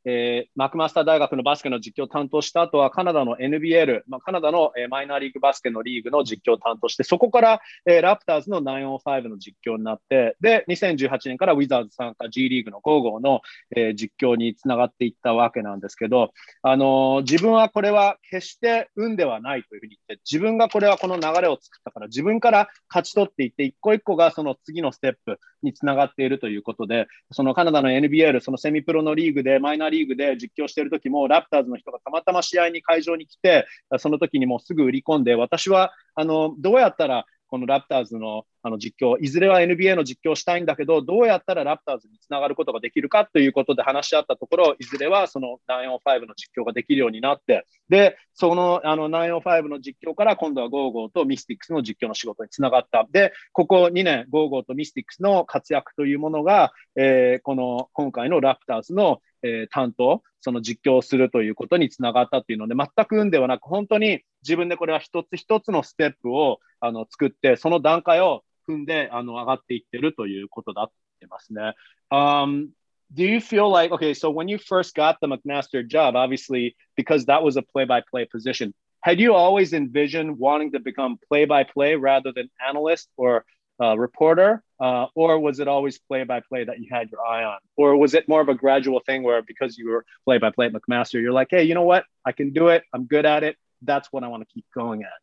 えー、マクマスター大学のバスケの実況を担当した後はカナダの エヌビーエル、まあ、カナダの、えー、マイナーリーグバスケのリーグの実況を担当して、そこから、えー、ラプターズのナインオーファイブの実況になって、で、にせんじゅうはちねんからウィザーズ参加 G リーグのゴーゴーの、えー、実況につながっていったわけなんですけど、あのー、自分はこれは決して運ではないというふうに言って、自分がこれはこの流れを作ったから、自分から勝ち取っていって、一個一個がその次のステップにつながっているということで、そのカナダの エヌビーエル、そのセミプロのリーグで、マイナーリーグで実況している時も、ラプターズの人がたまたま試合に会場に来て、その時にもうすぐ売り込んで、私はあのどうやったらこのラプターズのあの実況、いずれは エヌビーエー の実況をしたいんだけど、どうやったらラプターズにつながることができるかということで話し合ったところ、いずれはそのナインオーファイブの実況ができるようになって、で、そのあのナインオーファイブの実況から今度はゴーゴーとミスティックスの実況の仕事につながった。で、ここにねん、ゴーゴーとミスティックスの活躍というものが、えー、この今回のラプターズの、えー、担当、その実況をするということにつながったというので、全く運ではなく、本当に自分でこれは一つ一つのステップをあの作って、その段階を踏んであの上がっていってるということだって言ってますね。Um, do you feel like, okay, so when you first got the McMaster job, obviously, because that was a play-by-play position, had you always envisioned wanting to become play-by-play rather than analyst or uh, reporter, uh, or was it always play-by-play that you had your eye on? Or was it more of a gradual thing where because you were play-by-play at McMaster, you're like, hey, you know what? I can do it. I'm good at it. That's what I want to keep going at.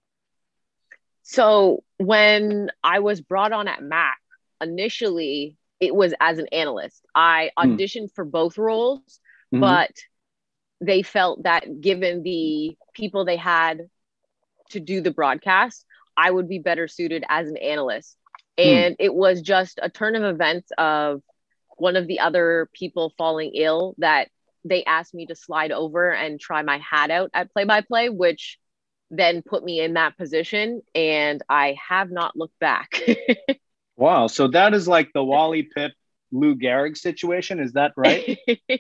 So when I was brought on at Mac, initially it was as an analyst. I auditioned mm. for both roles, mm-hmm. but they felt that given the people they had to do the broadcast, I would be better suited as an analyst. And mm. it was just a turn of events of one of the other people falling ill that they asked me to slide over and try my hat out at play-by-play, which then put me in that position, and I have not looked back. Wow. So that is like the Wally Pipp, Lou Gehrig situation. Is that right?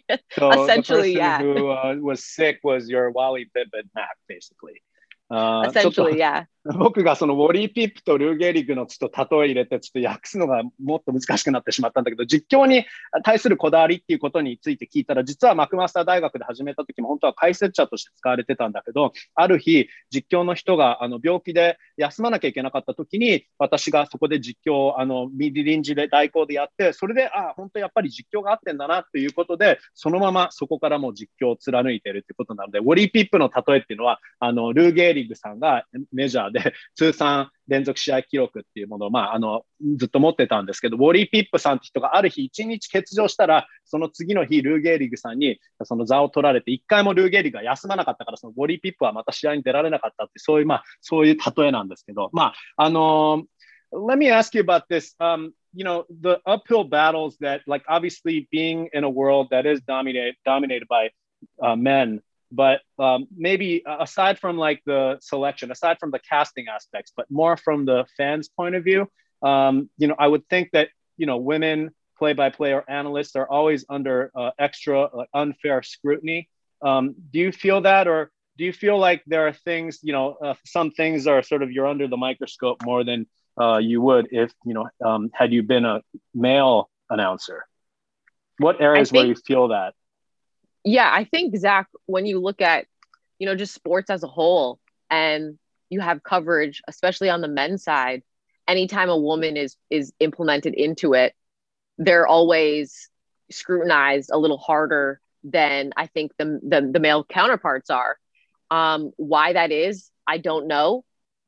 So essentially, the person yeah. who uh, was sick was your Wally Pipp at Mac, basically. Uh, essentially, yeah. 僕がそのウォリー・ピップとルー・ゲリグのちょっと例え入れてちょっと訳すのがもっと難しくなってしまったんだけど、実況に対するこだわりっていうことについて聞いたら、実はマクマスター大学で始めた時も本当は解説者として使われてたんだけど、ある日実況の人があの病気で休まなきゃいけなかった時に、私がそこで実況をあのミディ臨時で代行でやって、それであ本当やっぱり実況が合ってんだなということで、そのままそこからもう実況を貫いているってことなので、ウォリー・ピップの例えっていうのはあのルー・ゲーリグさんがメジャーで通算連続試合記録っていうものを、まあ、あのずっと持ってたんですけど、ウォリー・ピップさんって人がある日一日欠場したら、その次の日ルー・ゲーリグさんにその座を取られて、一回もルー・ゲーリグが休まなかったから、そのウォリー・ピップはまた試合に出られなかったって、そういう、まあ、そういう例えなんですけど、まあ、あのー、Let me ask you about this. Um, you know, the uphill battles that, like, obviously being in a world that is dominated, dominated by uh, men.But um, maybe aside from like the selection, aside from the casting aspects, but more from the fans' point of view, um, you know, I would think that, you know, women play-by-play or analysts are always under uh, extra uh, unfair scrutiny. Um, do you feel that, or do you feel like there are things, you know, uh, some things are sort of you're under the microscope more than uh, you would if, you know, um, had you been a male announcer? What areas think- where you feel that?Yeah, I think, Zach, when you look at, you know, just sports as a whole and you have coverage, especially on the men's side, anytime a woman is is implemented into it, they're always scrutinized a little harder than I think the the, the male counterparts are. Um, why that is, I don't know.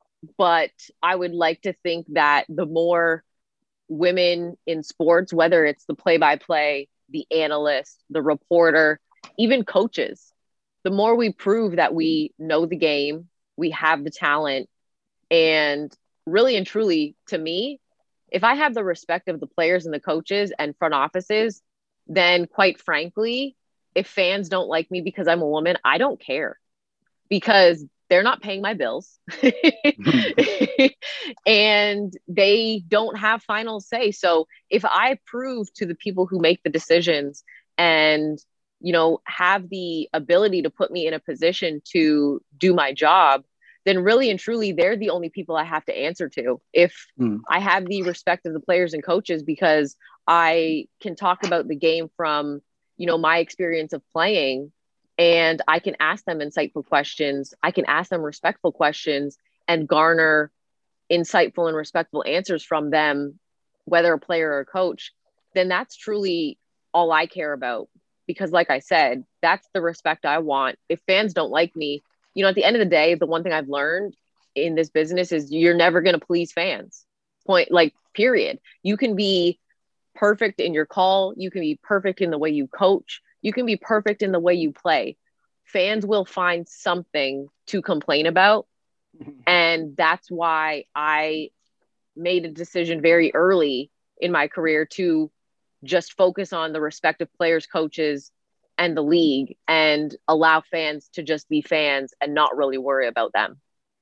But I would like to think that the more women in sports, whether it's the play-by-play, the analyst, the reporter,even coaches, the more we prove that we know the game, we have the talent, and really and truly, to me, if I have the respect of the players and the coaches and front offices, then quite frankly, if fans don't like me because I'm a woman, I don't care, because they're not paying my bills and they don't have final say. So if I prove to the people who make the decisions and you know, have the ability to put me in a position to do my job, then really and truly, they're the only people I have to answer to. If mm. I have the respect of the players and coaches because I can talk about the game from you know, my experience of playing, and I can ask them insightful questions. I can ask them respectful questions and garner insightful and respectful answers from them, whether a player or a coach, then that's truly all I care about. Because like I said, that's the respect I want. If fans don't like me, you know, at the end of the day, the one thing I've learned in this business is you're never going to please fans. Point, like, period. You can be perfect in your call. You can be perfect in the way you coach. You can be perfect in the way you play. Fans will find something to complain about. And that's why I made a decision very early in my career to just focus on the respective players, coaches, and the league, and allow fans to just be fans and not really worry about them.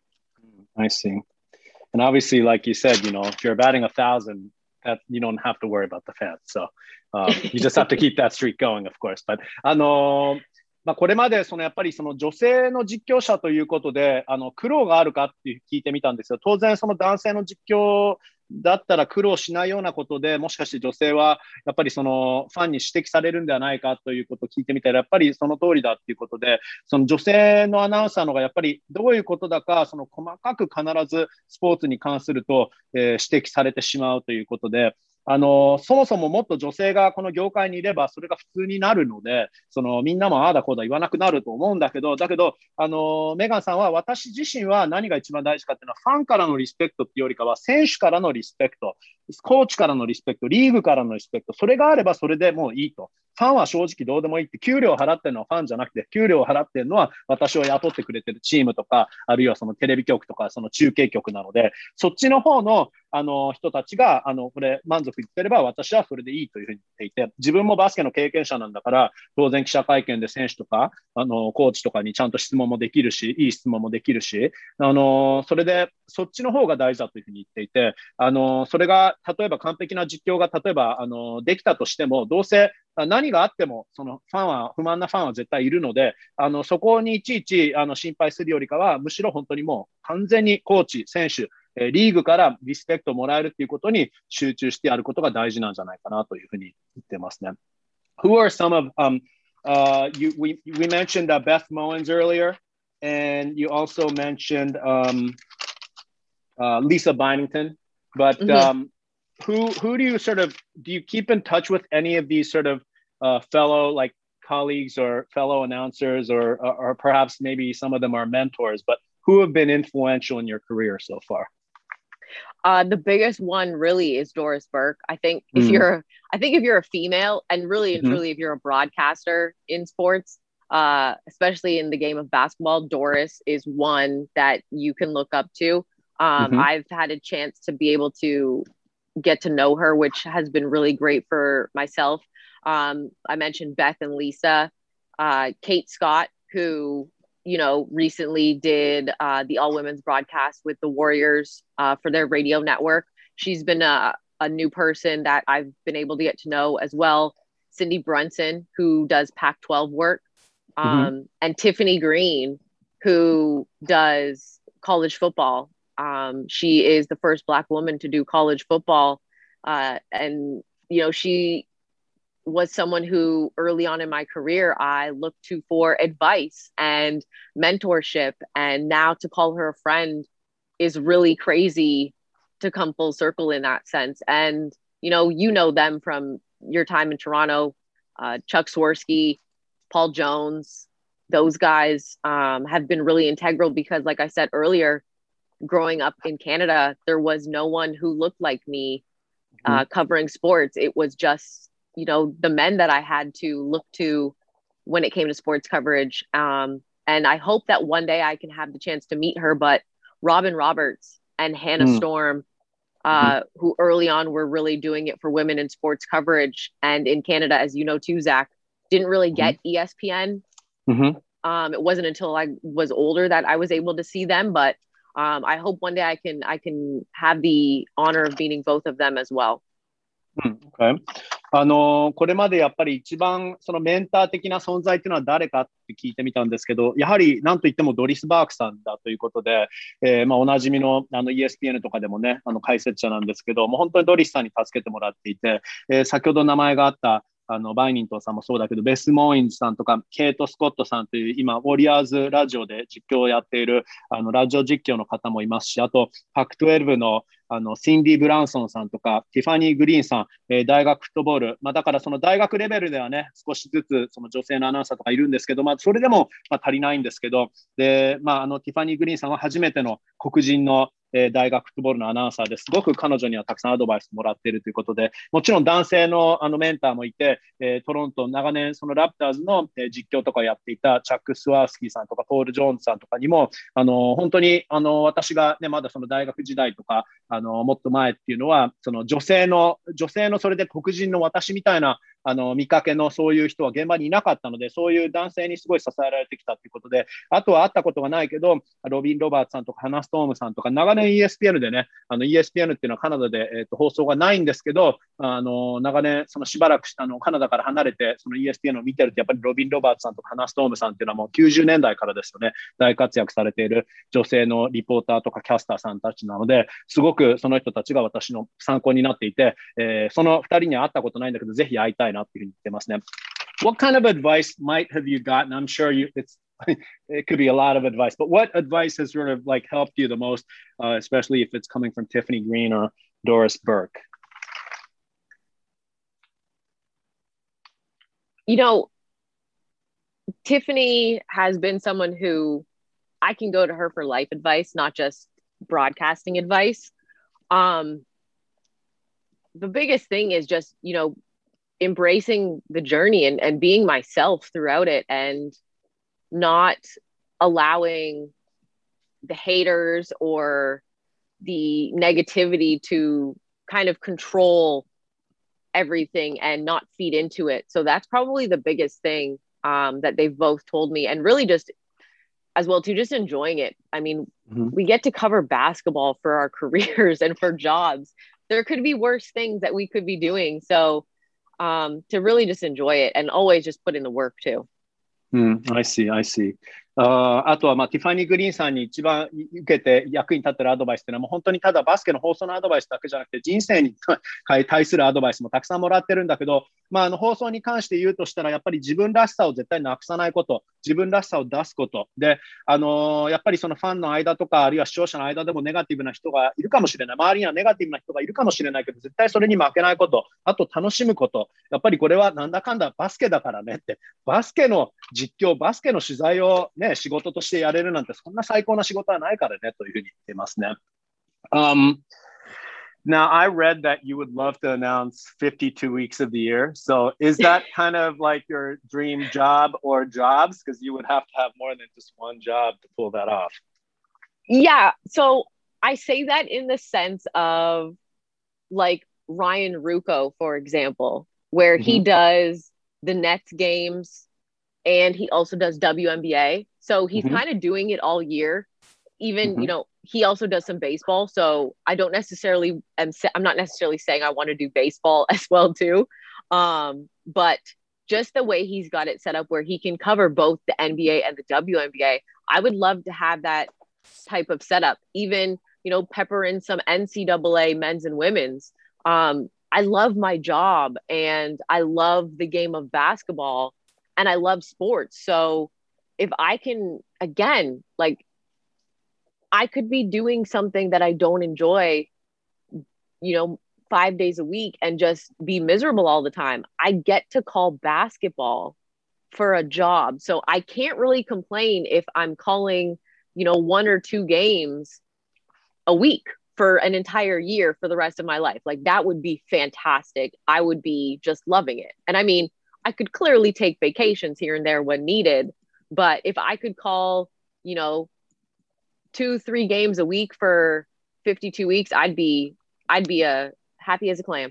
I see. And obviously, like you said, you know, if you're batting a thousand, that you don't have to worry about the fans. So um, you just have to keep that streak going, of course. But あのーまあ、これまでそのやっぱりその女性の実況者ということであの苦労があるかって聞いてみたんですよ。当然その男性の実況だったら苦労しないようなことで、もしかして女性はやっぱりそのファンに指摘されるんではないかということを聞いてみたら、やっぱりその通りだっていうことで、その女性のアナウンサーのがやっぱりどういうことだか、その細かく必ずスポーツに関すると、えー、指摘されてしまうということで、あのそもそももっと女性がこの業界にいればそれが普通になるので、そのみんなもああだこうだ言わなくなると思うんだけど、だけどあのメガンさんは、私自身は何が一番大事かっていうのは、ファンからのリスペクトっていうよりかは選手からのリスペクト、コーチからのリスペクト、リーグからのリスペクト、それがあればそれでもういいと。ファンは正直どうでもいいって、給料を払ってるのはファンじゃなくて、給料を払ってるのは私を雇ってくれてるチームとか、あるいはそのテレビ局とかその中継局なので、そっちの方のあの人たちがあのこれ満足いってれば私はそれでいいというふうに言っていて、自分もバスケの経験者なんだから、当然記者会見で選手とかあのコーチとかにちゃんと質問もできるし、いい質問もできるし、あのそれでそっちの方が大事だというふうに言っていて、あのそれが例えば完璧な実況が例えばあのできたとしても、どうせ何があってもそのファンは不満なファンは絶対いるので、あのそこにいちいちあの心配するよりかは、むしろ本当にもう完全にコーチ、選手、リーグからリスペクトをもらえるっていうことに集中してやることが大事なんじゃないかなというふうに言ってますね。Who are some of um uh you we we mentioned uh, Beth Mowins earlier, and you also mentioned um uh, Lisa Bynington, but mm-hmm. um who who do you sort of do you keep in touch with any of these sort of uh, fellow like colleagues or fellow announcers, or or perhaps maybe some of them are mentors, but who have been influential in your career so far? Uh, the biggest one really is Doris Burke. I think if mm-hmm. you're, I think if you're a female, and really and mm-hmm. truly if you're a broadcaster in sports, uh, especially in the game of basketball, Doris is one that you can look up to. Um, mm-hmm. I've had a chance to be able to get to know her, which has been really great for myself. Um, I mentioned Beth and Lisa, uh, Kate Scott, who, you know, recently did uh, the all women's broadcast with the Warriors uh, for their radio network. She's been a, a new person that I've been able to get to know as well. Cindy Brunson, who does Pac twelve work, um, mm-hmm. and Tiffany Green, who does college football. Um, she is the first Black woman to do college football. Uh, and, you know, she was someone who early on in my career, I looked to for advice and mentorship. And now to call her a friend is really crazy to come full circle in that sense. And, you know, you know them from your time in Toronto, uh, Chuck Swirsky, Paul Jones, those guys um, have been really integral because, like I said earlier, growing up in Canada, there was no one who looked like me uh, mm-hmm. covering sports. It was just, you know, the men that I had to look to when it came to sports coverage. Um, and I hope that one day I can have the chance to meet her, but Robin Roberts and Hannah mm. Storm, uh, mm-hmm. who early on were really doing it for women in sports coverage. And in Canada, as you know, too, Zach, didn't really get mm-hmm. E S P N. Mm-hmm. Um, it wasn't until I was older that I was able to see them, but um, I hope one day I can, I can have the honor of meeting both of them as well. Mm, okay. あのこれまでやっぱり一番そのメンター的な存在っていうのは誰かって聞いてみたんですけど、やはり何といってもドリス・バークさんだということで、えーまあ、おなじみの、あの イーエスピーエヌ とかでもね、あの解説者なんですけど、もう本当にドリスさんに助けてもらっていて、えー、先ほど名前があったあの、バイニントンさんもそうだけど、ベス・モーインズさんとか、ケイト・スコットさんという、今、ウォリアーズラジオで実況をやっている、あの、ラジオ実況の方もいますし、あと、パックじゅうにの、あの、シンディ・ブランソンさんとか、ティファニー・グリーンさん、えー、大学フットボール、まあ、だからその大学レベルではね、少しずつ、その女性のアナウンサーとかいるんですけど、まあ、それでも、まあ、足りないんですけど、で、まあ、あの、ティファニー・グリーンさんは初めての黒人の、えー、大学フットボールのアナウンサーですごく彼女にはたくさんアドバイスもらっているということで、もちろん男性のあのメンターもいて、えー、トロント長年そのラプターズの、えー、実況とかをやっていたチャック・スワースキーさんとかポール・ジョーンズさんとかにも、あの本当にあの私が、ね、まだその大学時代とかあのもっと前っていうのは、その女性の女性のそれで黒人の私みたいなあの見かけのそういう人は現場にいなかったので、そういう男性にすごい支えられてきたということで、あとは会ったことがないけど、ロビン・ロバーツさんとかハナ・ストームさんとか、長年 イーエスピーエヌ でね、あの イーエスピーエヌ っていうのはカナダで、えー、と放送がないんですけど、あの長年そのしばらくあのカナダから離れてその イーエスピーエヌ を見てると、やっぱりロビン・ロバーツさんとかハナ・ストームさんっていうのはもうきゅうじゅうねんだいからですよね、大活躍されている女性のリポーターとかキャスターさんたちなので、すごくその人たちが私の参考になっていて、えー、そのふたりには会ったことないんだけど、ぜひ会いたいなっていうふうに言ってますね。What kind of advice might have you gotten? I'm sure you it's it could be a lot of advice, but what advice has sort of like helped you the most, uh, especially if it's coming from Tiffany Green or Doris Burke? You know, Tiffany has been someone who I can go to her for life advice, not just broadcasting advice. Um, the biggest thing is just, you know, embracing the journey and, and being myself throughout it, and not allowing the haters or the negativity to kind of control everything and not feed into it. So that's probably the biggest thing um, that they've both told me, and really just as well too, just enjoying it. I mean, mm-hmm. we get to cover basketball for our careers and for jobs. There could be worse things that we could be doing. So um, to really just enjoy it and always just put in the work too. Mm, I see, I see. あ, あとは、まあ、ティファニー・グリーンさんに一番受けて役に立ってるアドバイスっていうのは、もう本当にただバスケの放送のアドバイスだけじゃなくて、人生に対するアドバイスもたくさんもらってるんだけど、まあ、あの放送に関して言うとしたら、やっぱり自分らしさを絶対なくさないこと、自分らしさを出すことで、あのー、やっぱりそのファンの間とか、あるいは視聴者の間でもネガティブな人がいるかもしれない、周りにはネガティブな人がいるかもしれないけど、絶対それに負けないこと、あと楽しむこと、やっぱりこれはなんだかんだバスケだからねって、バスケの実況、バスケの取材を、ね、仕事としてやれるなんて、そんな最高な仕事はないからねというふうに言ってますね。Um, now, I read that you would love to announce fifty-two weeks of the year. So is that kind of like your dream job or jobs? Because you would have to have more than just one job to pull that off. Yeah. So I say that in the sense of like Ryan Ruocco, for example, where mm-hmm. he does the Nets games and he also does W N B A. So he's mm-hmm. kind of doing it all year. Even, mm-hmm. you know, he also does some baseball. So I don't necessarily, am, I'm not necessarily saying I want to do baseball as well too. Um, but just the way he's got it set up where he can cover both the N B A and the W N B A, I would love to have that type of setup. Even, you know, pepper in some N C double A men's and women's. Um, I love my job and I love the game of basketball and I love sports. So if I can, again, like, I could be doing something that I don't enjoy, you know, five days a week and just be miserable all the time. I get to call basketball for a job. So I can't really complain if I'm calling, you know, one or two games a week for an entire year for the rest of my life. Like that would be fantastic. I would be just loving it. And I mean, I could clearly take vacations here and there when needed, but if I could call, you know, two, three games a week for fifty-two weeks, I'd be, I'd be a happy as a clam.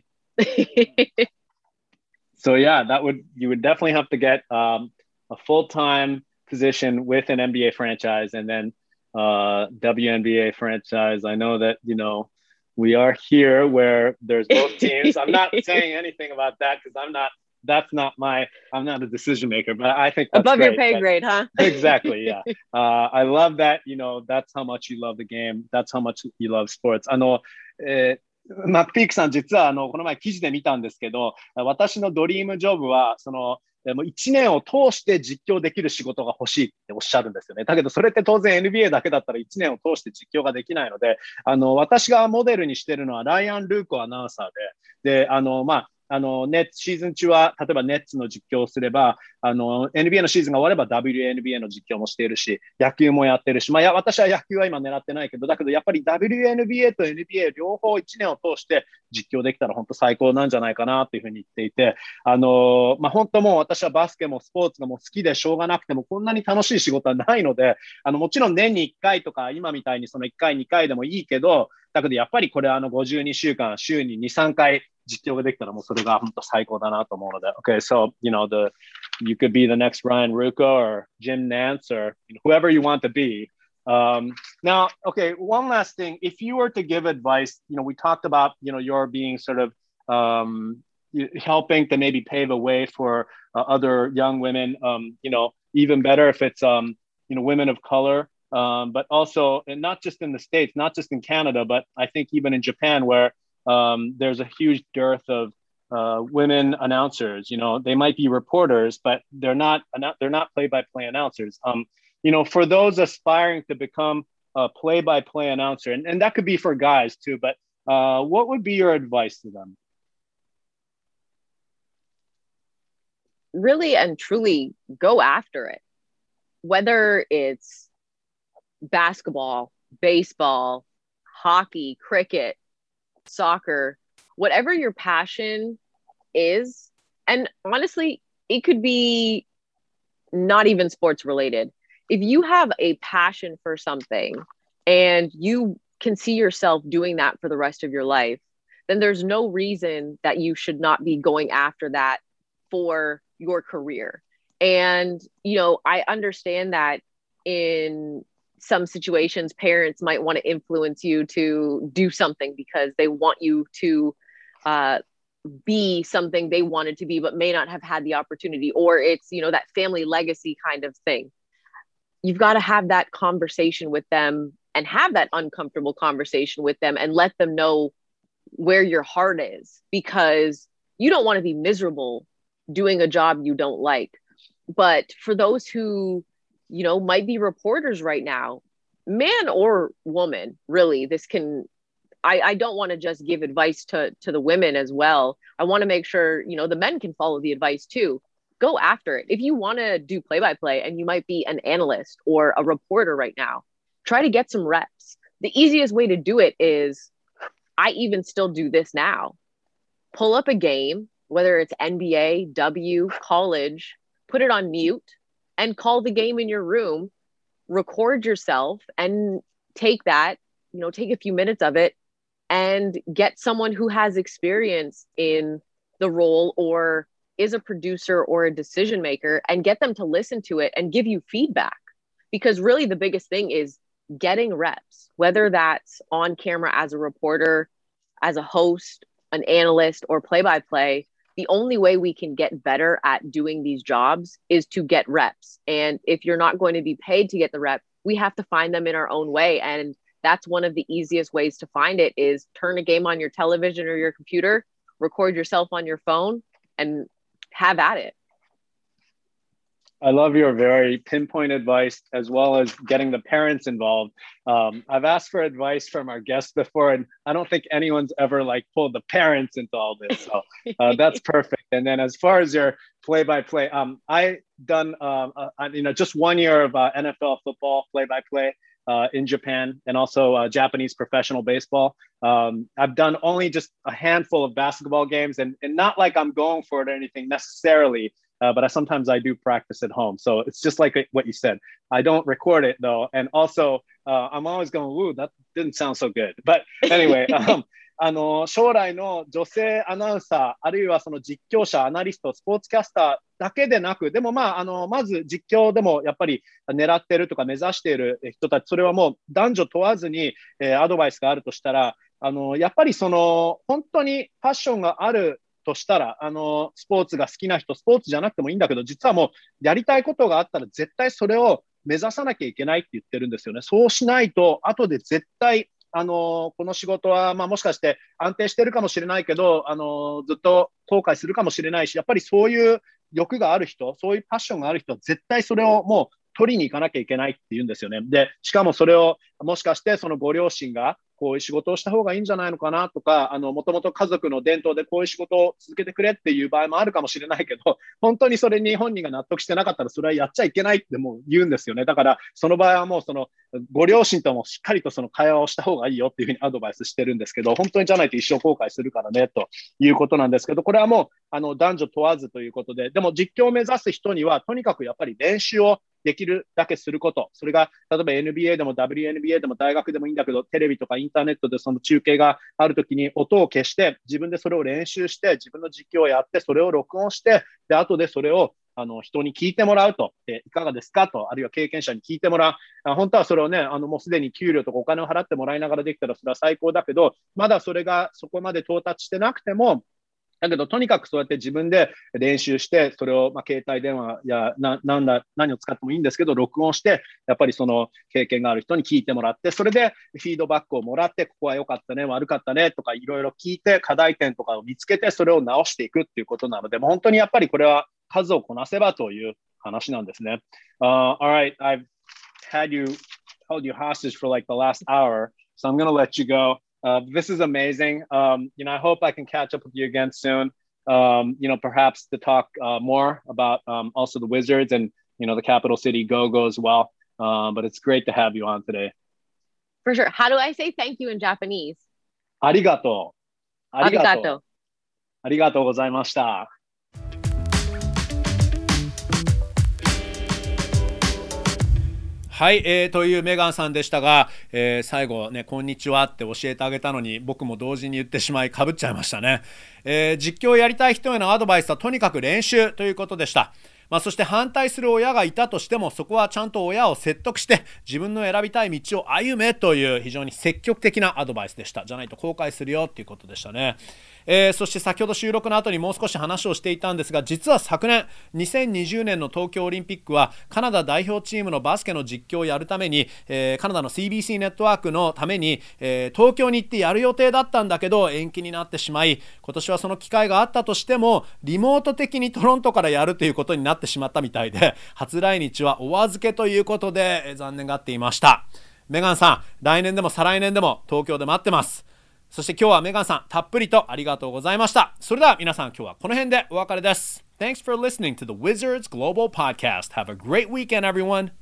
So yeah, that would, you would definitely have to get um, a full-time position with an N B A franchise and then uh, W N B A franchise. I know that, you know, we are here where there's both teams. I'm not saying anything about that because I'm not, that's not my, I'm not a decision maker, but I think that's above great. your pay grade, huh? Exactly. Yeah. Uh, I love that, you know, that's how much you love the game. That's how much you love sports. あの、えーマックピークさん、実はあのこの前記事で見たんですけど、私のドリームジョブは、その、もういちねんを通して実況できる仕事が欲しいっておっしゃるんですよね。だけど、それって当然 エヌビーエー だけだったらいちねんを通して実況ができないので、あの、私がモデルにしてるのはライアン・ルーコアナウンサーで、で、あの、まあ、あの、ネッツ、シーズン中は、例えばネッツの実況をすれば、あの、エヌビーエー のシーズンが終われば ダブリューエヌビーエー の実況もしているし、野球もやってるし、まあ、いや、私は野球は今狙ってないけど、だけどやっぱり ダブリューエヌビーエー と エヌビーエー 両方いちねんを通して実況できたら本当最高なんじゃないかなというふうに言っていて、あの、まあ、本当もう私はバスケもスポーツがもう好きでしょうがなくても、こんなに楽しい仕事はないので、あの、もちろん年にいっかいとか、今みたいにそのいっかい、にかいでもいいけど、だけどやっぱりこれあのごじゅうにしゅうかん、週にに、さんかい実況ができたらもうそれが本当最高だなと思うので。Okay, so, you know, the, you could be the next Ryan Ruocco or Jim Nance or whoever you want to be. Um, now, okay, one last thing. If you were to give advice, you know, we talked about, you know, your being sort of um, helping to maybe pave a way for uh, other young women, um, you know, even better if it's, um, you know, women of color. Um, but also, and not just in the States, not just in Canada, but I think even in Japan, where um, there's a huge dearth of uh, women announcers. You know, they might be reporters, but they're not they're not play-by-play announcers. Um, you know, for those aspiring to become a play-by-play announcer, and, and that could be for guys too. But uh, what would be your advice to them? Really and truly go after it, whether it's basketball, baseball, hockey, cricket, soccer, whatever your passion is. And honestly, it could be not even sports related. If you have a passion for something and you can see yourself doing that for the rest of your life, then there's no reason that you should not be going after that for your career. And, you know, I understand that in some situations, parents might want to influence you to do something because they want you to uh, be something they wanted to be, but may not have had the opportunity, or it's, you know, that family legacy kind of thing. You've got to have that conversation with them and have that uncomfortable conversation with them and let them know where your heart is, because you don't want to be miserable doing a job you don't like. But for those who, you know, might be reporters right now, man or woman, really, this can, I, I don't want to just give advice to, to the women as well. I want to make sure, you know, the men can follow the advice too. Go after it. If you want to do play-by-play and you might be an analyst or a reporter right now, try to get some reps. The easiest way to do it is, I even still do this now. Pull up a game, whether it's N B A, W, college, put it on mute, and call the game in your room, record yourself and take that, you know, take a few minutes of it and get someone who has experience in the role or is a producer or a decision maker and get them to listen to it and give you feedback. Because really the biggest thing is getting reps, whether that's on camera as a reporter, as a host, an analyst, or play-by-play. The only way we can get better at doing these jobs is to get reps. And if you're not going to be paid to get the rep, we have to find them in our own way. And that's one of the easiest ways to find it is turn a game on your television or your computer, record yourself on your phone, and have at it. I love your very pinpoint advice, as well as getting the parents involved. Um, I've asked for advice from our guests before, and I don't think anyone's ever like pulled the parents into all this. So uh, that's perfect. And then as far as your play-by-play, um, I done uh, uh, you know just one year of uh, N F L football play-by-play uh, in Japan, and also uh, Japanese professional baseball. Um, I've done only just a handful of basketball games, and, and not like I'm going for it or anything necessarily. Uh, but I, sometimes I do practice at home. So it's just like what you said. I don't record it though. And also, uh, I'm always going, ooh, that didn't sound so good. But anyway, um, あの、将来の女性アナウンサー、あるいはその実況者、アナリスト、スポーツキャスターだけでなく、でもまあ、あの、まず実況でもやっぱり狙ってるとか目指している人たち、それはもう男女問わずに、えー、アドバイスがあるとしたら、あの、やっぱりその、本当にパッションがあるとしたら、あの、スポーツが好きな人、スポーツじゃなくてもいいんだけど、実はもうやりたいことがあったら絶対それを目指さなきゃいけないって言ってるんですよね。そうしないと、後で絶対あの、この仕事は、まあもしかして安定してるかもしれないけど、あの、ずっと後悔するかもしれないし、やっぱりそういう欲がある人、そういうパッションがある人は絶対それをもう取りに行かなきゃいけないって言うんですよね。で、しかもそれをもしかしてそのご両親がこういう仕事をした方がいいんじゃないのかなとか、あの、もともと家族の伝統でこういう仕事を続けてくれっていう場合もあるかもしれないけど、本当にそれに本人が納得してなかったらそれはやっちゃいけないってもう言うんですよね。だからその場合はもうそのご両親ともしっかりとその会話をした方がいいよっていうふうにアドバイスしてるんですけど、本当にじゃないと一生後悔するからねということなんですけど、これはもうあの男女問わずということで、でも実況を目指す人にはとにかくやっぱり練習をできるだけすること。それが、例えば エヌビーエー でも ダブリューエヌビーエー でも大学でもいいんだけど、テレビとかインターネットでその中継があるときに音を消して、自分でそれを練習して、自分の実況をやって、それを録音して、で、後でそれをあの人に聞いてもらうと、えいかがですかと、あるいは経験者に聞いてもらう。あ本当はそれをね、あのもうすでに給料とかお金を払ってもらいながらできたらそれは最高だけど、まだそれがそこまで到達してなくても、だけど、とにかくそうやって自分で練習して、それを、まあ、携帯電話やな、なんだ、何を使ってもいいんですけど、録音して、やっぱりその経験がある人に聞いてもらって、それでフィードバックをもらって、ここは良かったね、悪かったね、とかいろいろ聞いて、課題点とかを見つけて、それを直していくっていうことなので、もう本当にやっぱりこれは数をこなせばという話なんですね。Uh, all right, I've had you, held you hostage for like the last hour, so I'm going to let you go.Uh, this is amazing. Um, you know, I hope I can catch up with you again soon. Um, you know, perhaps to talk uh, more about um, also the Wizards and, you know, the capital city Go-Go as well. Um, but it's great to have you on today. For sure. How do I say thank you in Japanese? ありがとう。 ありがとう。 ありがとうございました。 はい、えー、というメガンさんでしたが、えー、最後ね、こんにちはって教えてあげたのに僕も同時に言ってしまいかぶっちゃいましたね。えー、実況をやりたい人へのアドバイスはとにかく練習ということでした。まあ、そして反対する親がいたとしても、そこはちゃんと親を説得して自分の選びたい道を歩めという非常に積極的なアドバイスでした。じゃないと後悔するよっていうことでしたね。えー、そして先ほど収録の後にもう少し話をしていたんですが、実は昨年にせんにじゅうねんの東京オリンピックはカナダ代表チームのバスケの実況をやるために、えー、カナダの シービーシー ネットワークのために、えー、東京に行ってやる予定だったんだけど延期になってしまい、今年はその機会があったとしてもリモート的にトロントからやるということになってしまったみたいで、初来日はお預けということで、えー、残念がっていました。メガンさん、来年でも再来年でも東京で待ってます。そして今日はメガンさんたっぷりとありがとうございました。それでは皆さん、今日はこの辺でお別れです。Thanks for listening to the Wizards Global Podcast. Have a great weekend, everyone.